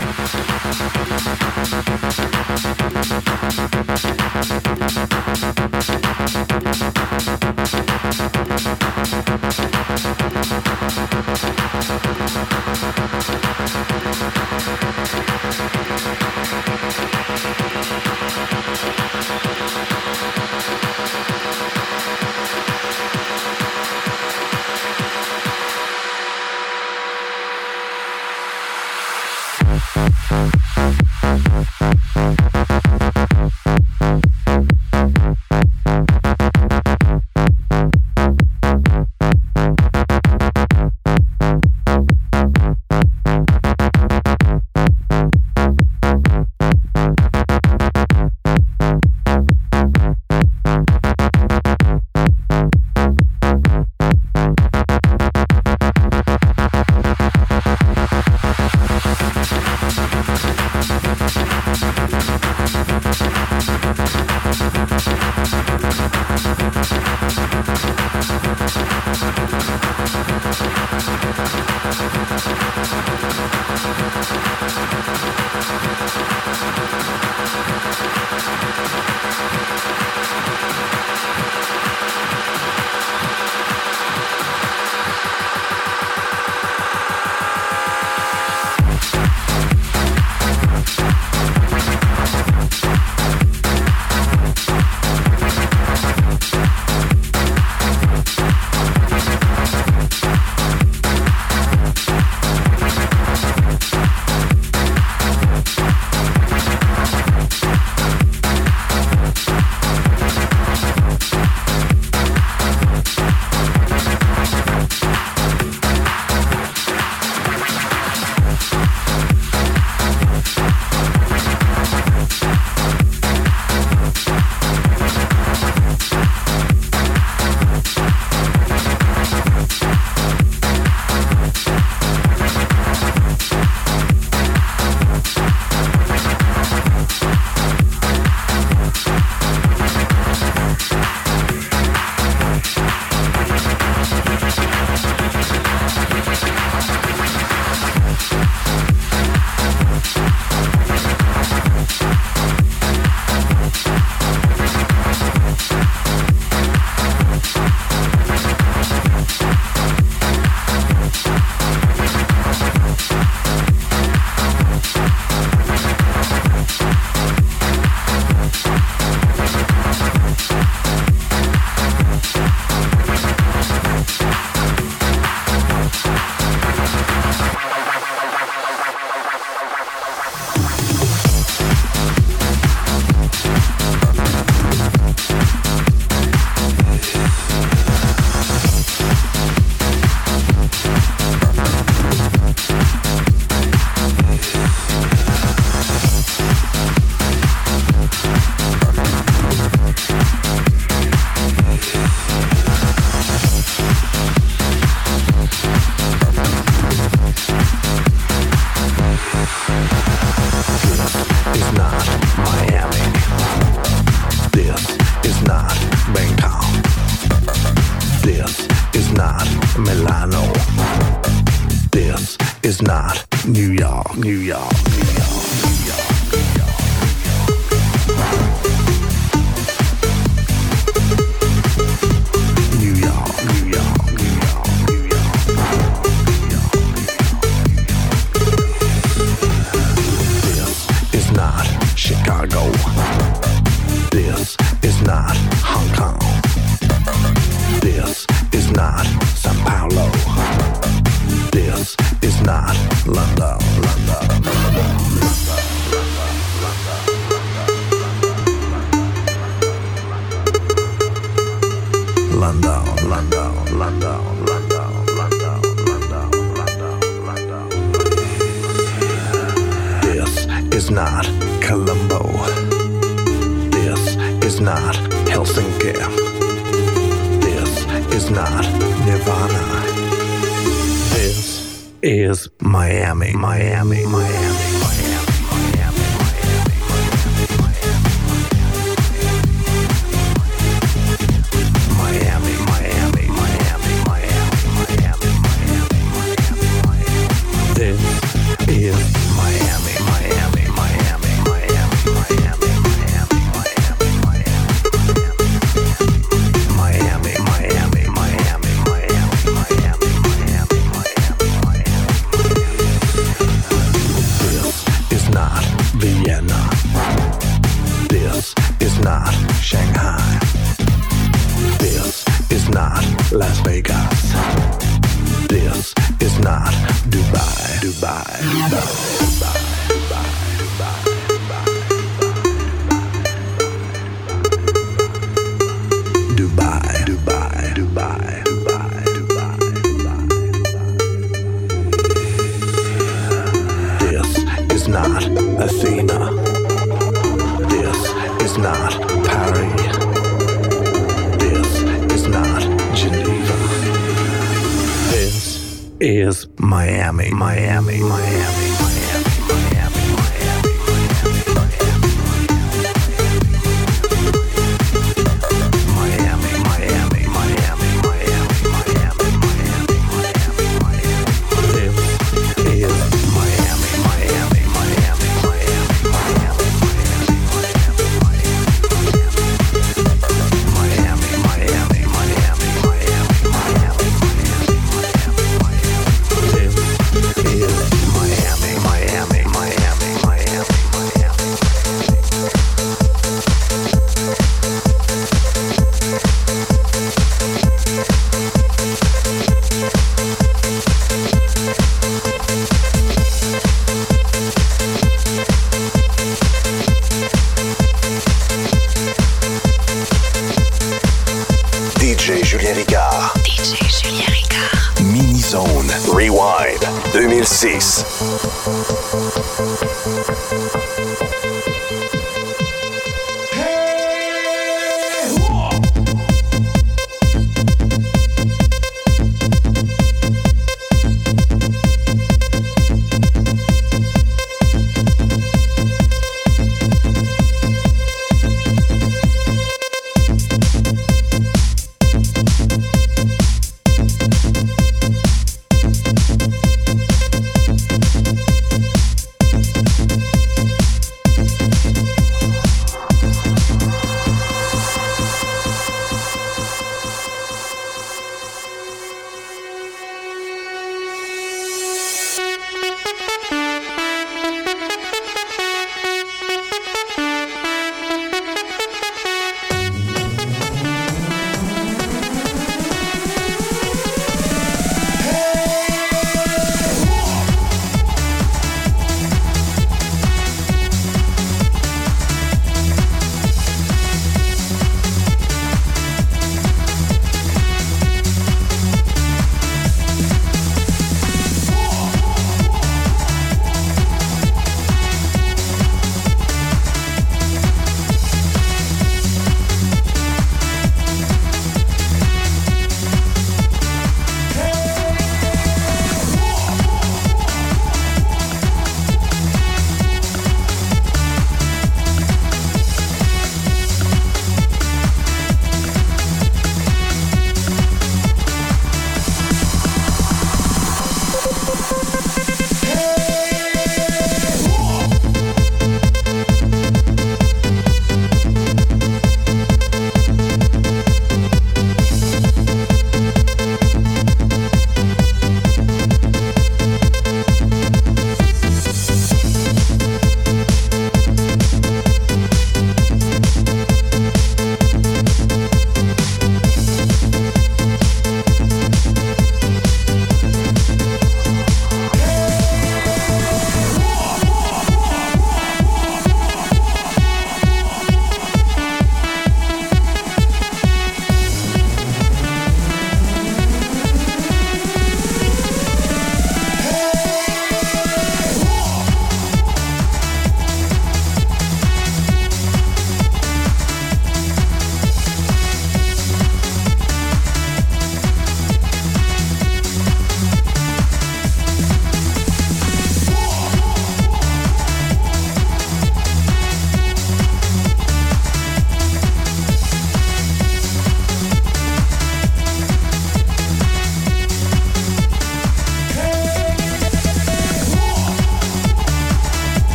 Rewind 2006.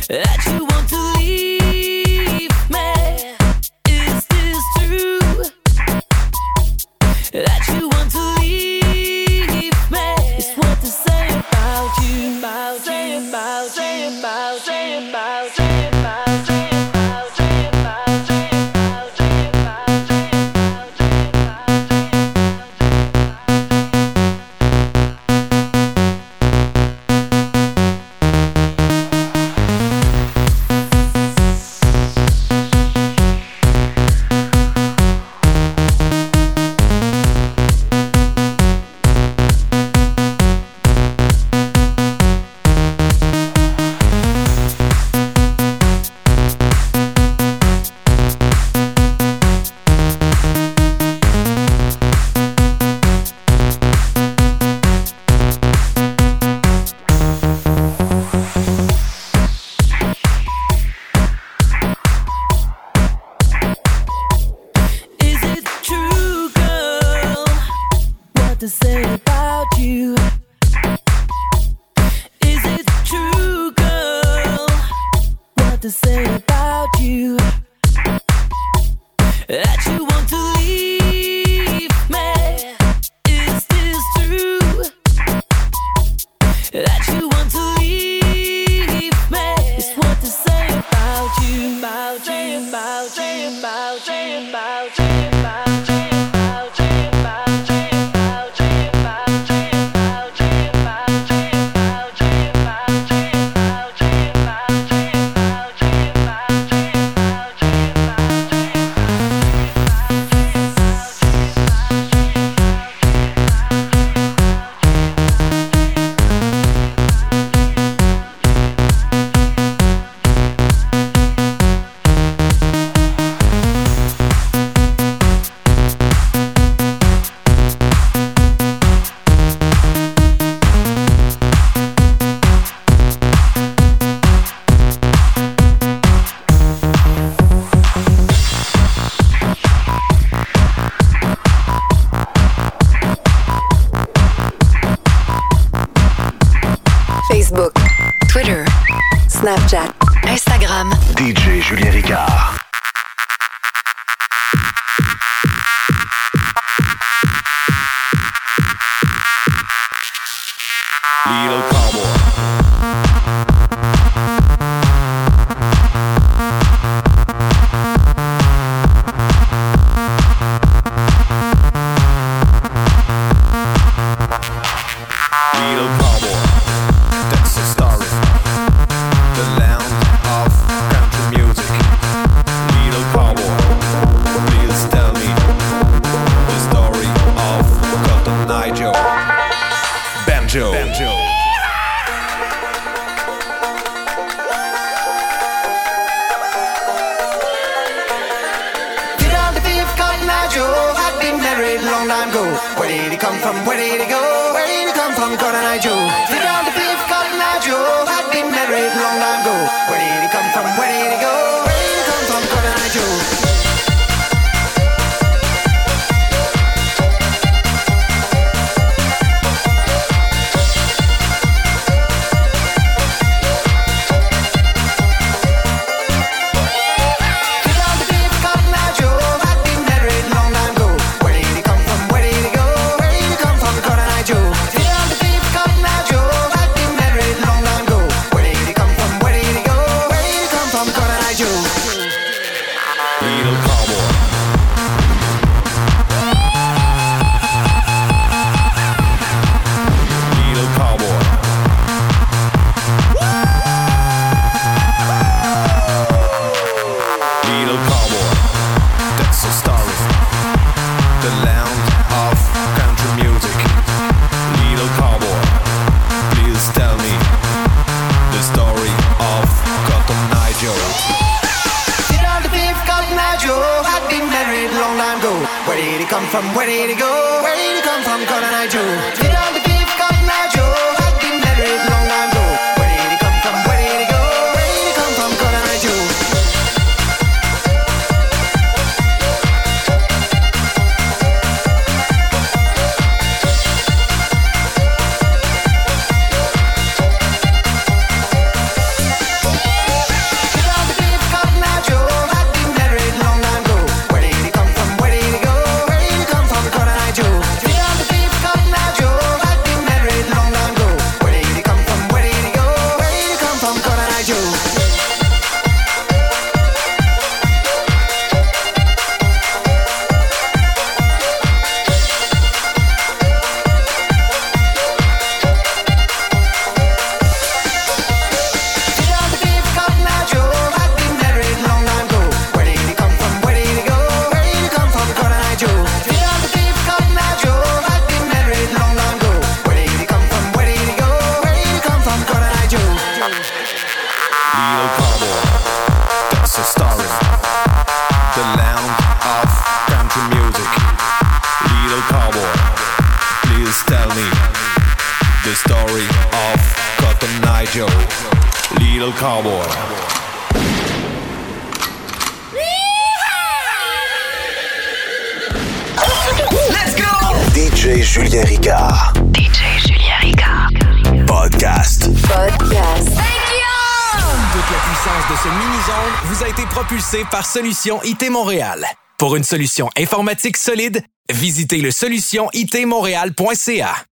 that you want to leave me. Is this true? That you want to leave me. It's what to say about you. About you. About you. About you. About you. To say about you. Is it true, girl? What to say about you? That you want to leave me. Is this true? That you want to leave me. It's what to say about you. About you. About you. About you. About you. About you. Facebook, Twitter, Snapchat, Instagram. DJ Julien Ricard. Little cowboy. Little cowboy, that's a story. The land of country music. Little cowboy, please tell me the story of Cotton Eye Joe. Little cowboy. Let's go! DJ Julien Ricard. DJ Julien Ricard. Podcast. Toute la puissance de ce mini-zone vous a été propulsée par Solution IT Montréal. Pour une solution informatique solide, visitez le solutionitmontréal.ca.